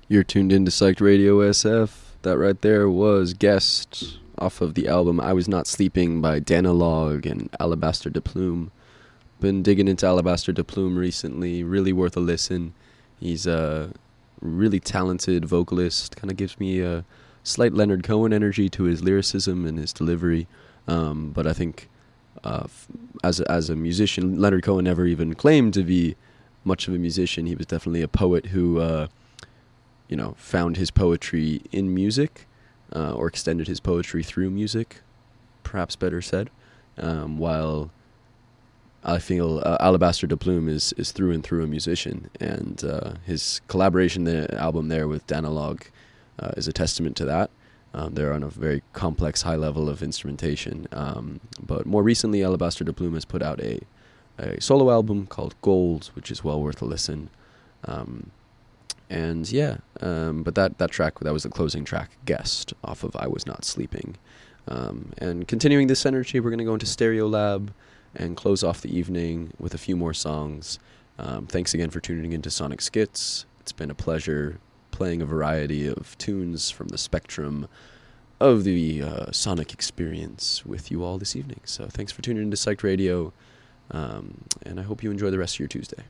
You're tuned into Psyched Radio SF. That right there was Guest off of the album I Was Not Sleeping by Danilog and Alabaster de Plume. Been digging into Alabaster de Plume recently. Really worth a listen. He's a really talented vocalist. Kind of gives me a slight Leonard Cohen energy to his lyricism and his delivery. But I think as a musician, Leonard Cohen never even claimed to be much of a musician. He was definitely a poet who found his poetry in music, or extended his poetry through music, perhaps better said, while I feel Alabaster de Plume is through and through a musician, and his collaboration, the album there with Danilog, is a testament to that. They're on a very complex, high level of instrumentation, but more recently Alabaster de Plume has put out a solo album called Gold, which is well worth a listen. But that track, that was the closing track, Guest, off of I Was Not Sleeping. And continuing this energy, we're going to go into Stereolab and close off the evening with a few more songs. Thanks again for tuning into Sonic Skits. It's been a pleasure playing a variety of tunes from the spectrum of the sonic experience with you all this evening. So thanks for tuning into Psyched Radio, and I hope you enjoy the rest of your Tuesday.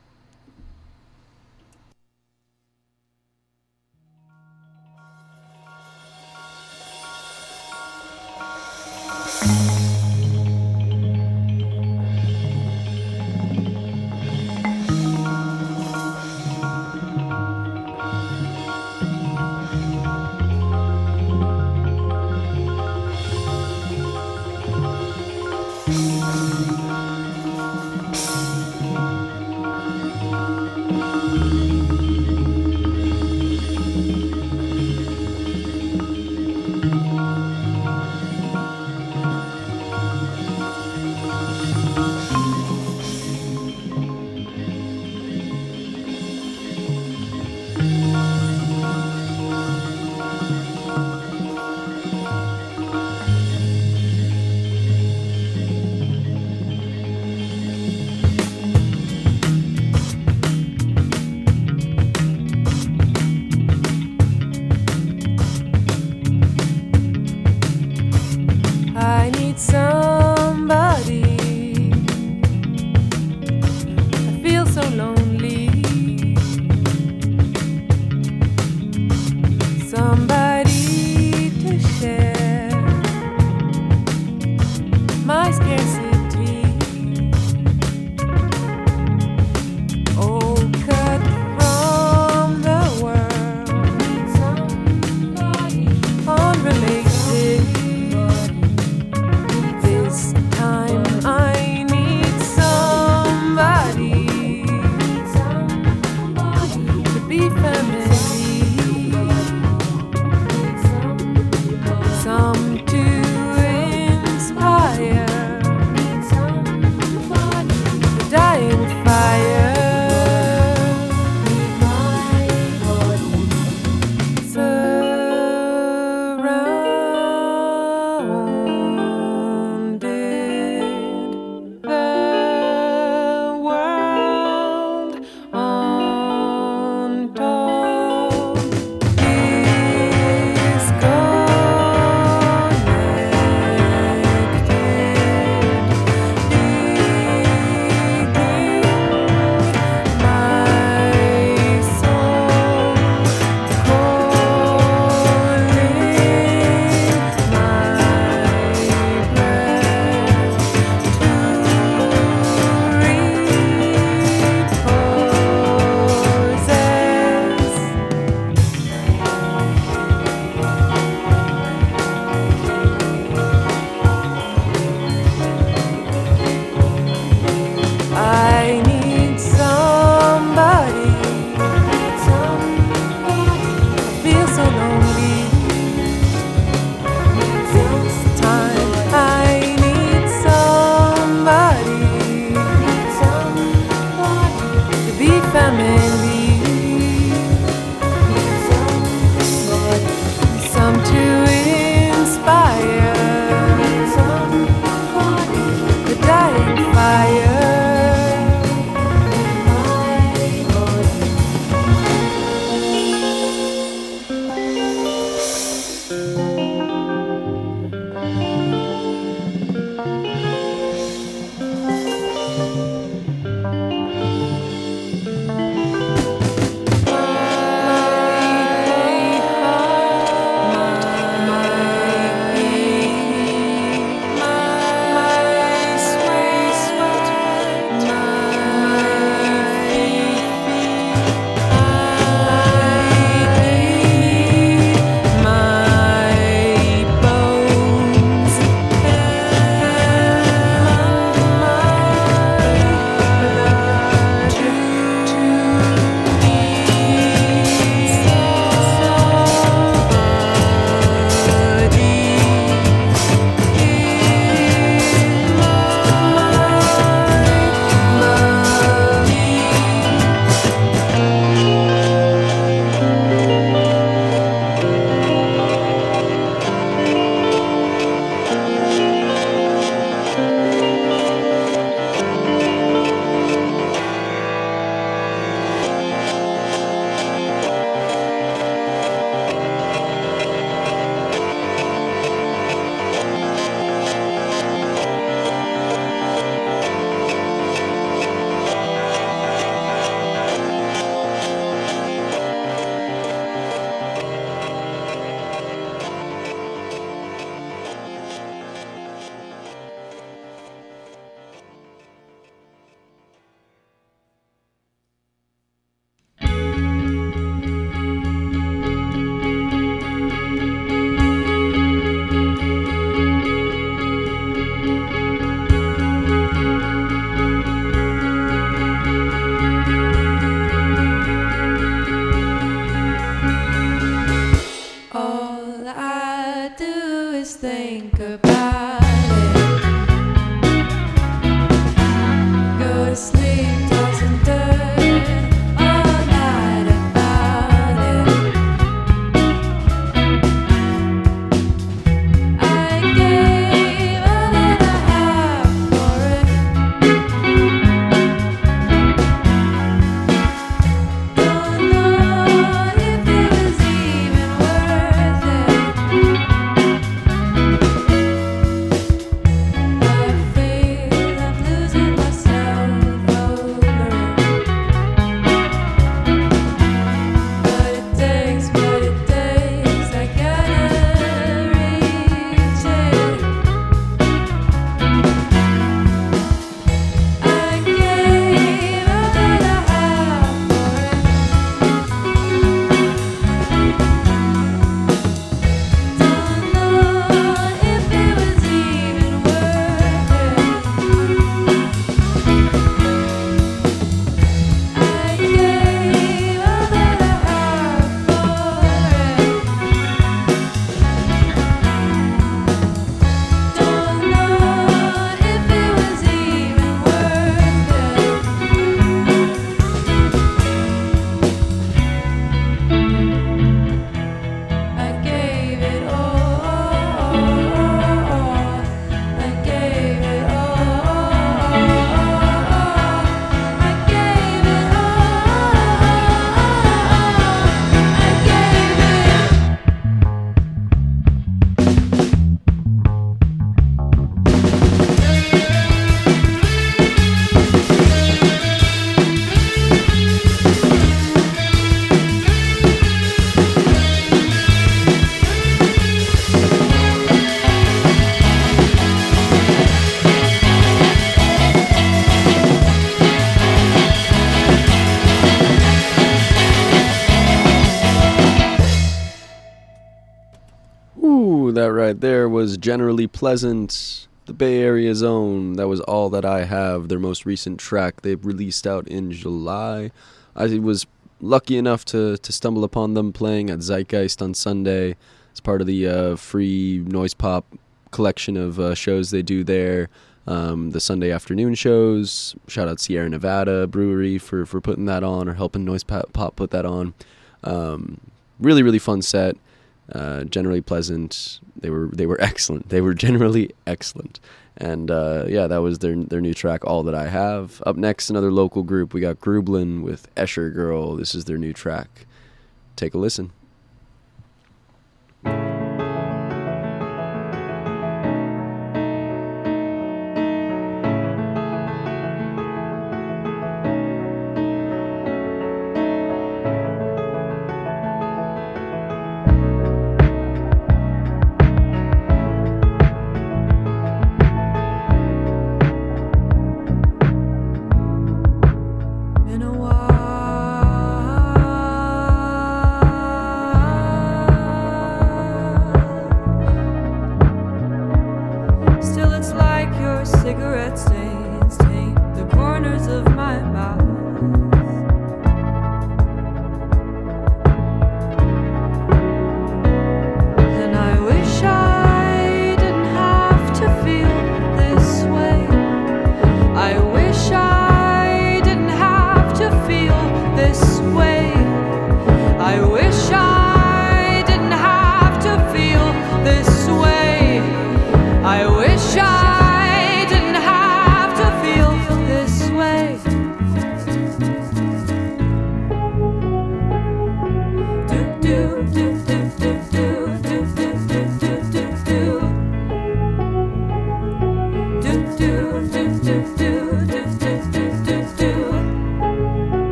right there was Generally Pleasant, the Bay Area's own. That was All That I Have, their most recent track. They've released out in July. I was lucky enough to stumble upon them playing at Zeitgeist on Sunday as part of the free noise pop collection of shows they do there. The Sunday afternoon shows. Shout out Sierra Nevada Brewery for putting that on, or helping Noise Pop put that on. Really, really fun set. Generally Pleasant. They were excellent. They were generally excellent. And that was their new track, All That I Have. Up next, another local group. We got Grublin with Escher Girl. This is their new track. Take a listen.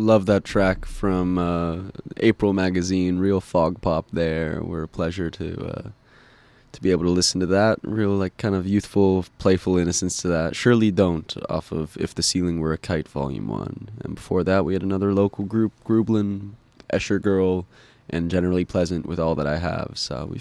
love that track from April Magazine, real fog pop there. We're a pleasure to be able to listen to that. Real, like, kind of youthful, playful innocence to that. Surely Don't, off of If the Ceiling Were a Kite, Volume 1. And before that, we had another local group, Grublin, Escher Girl, and Generally Pleasant with All That I Have. So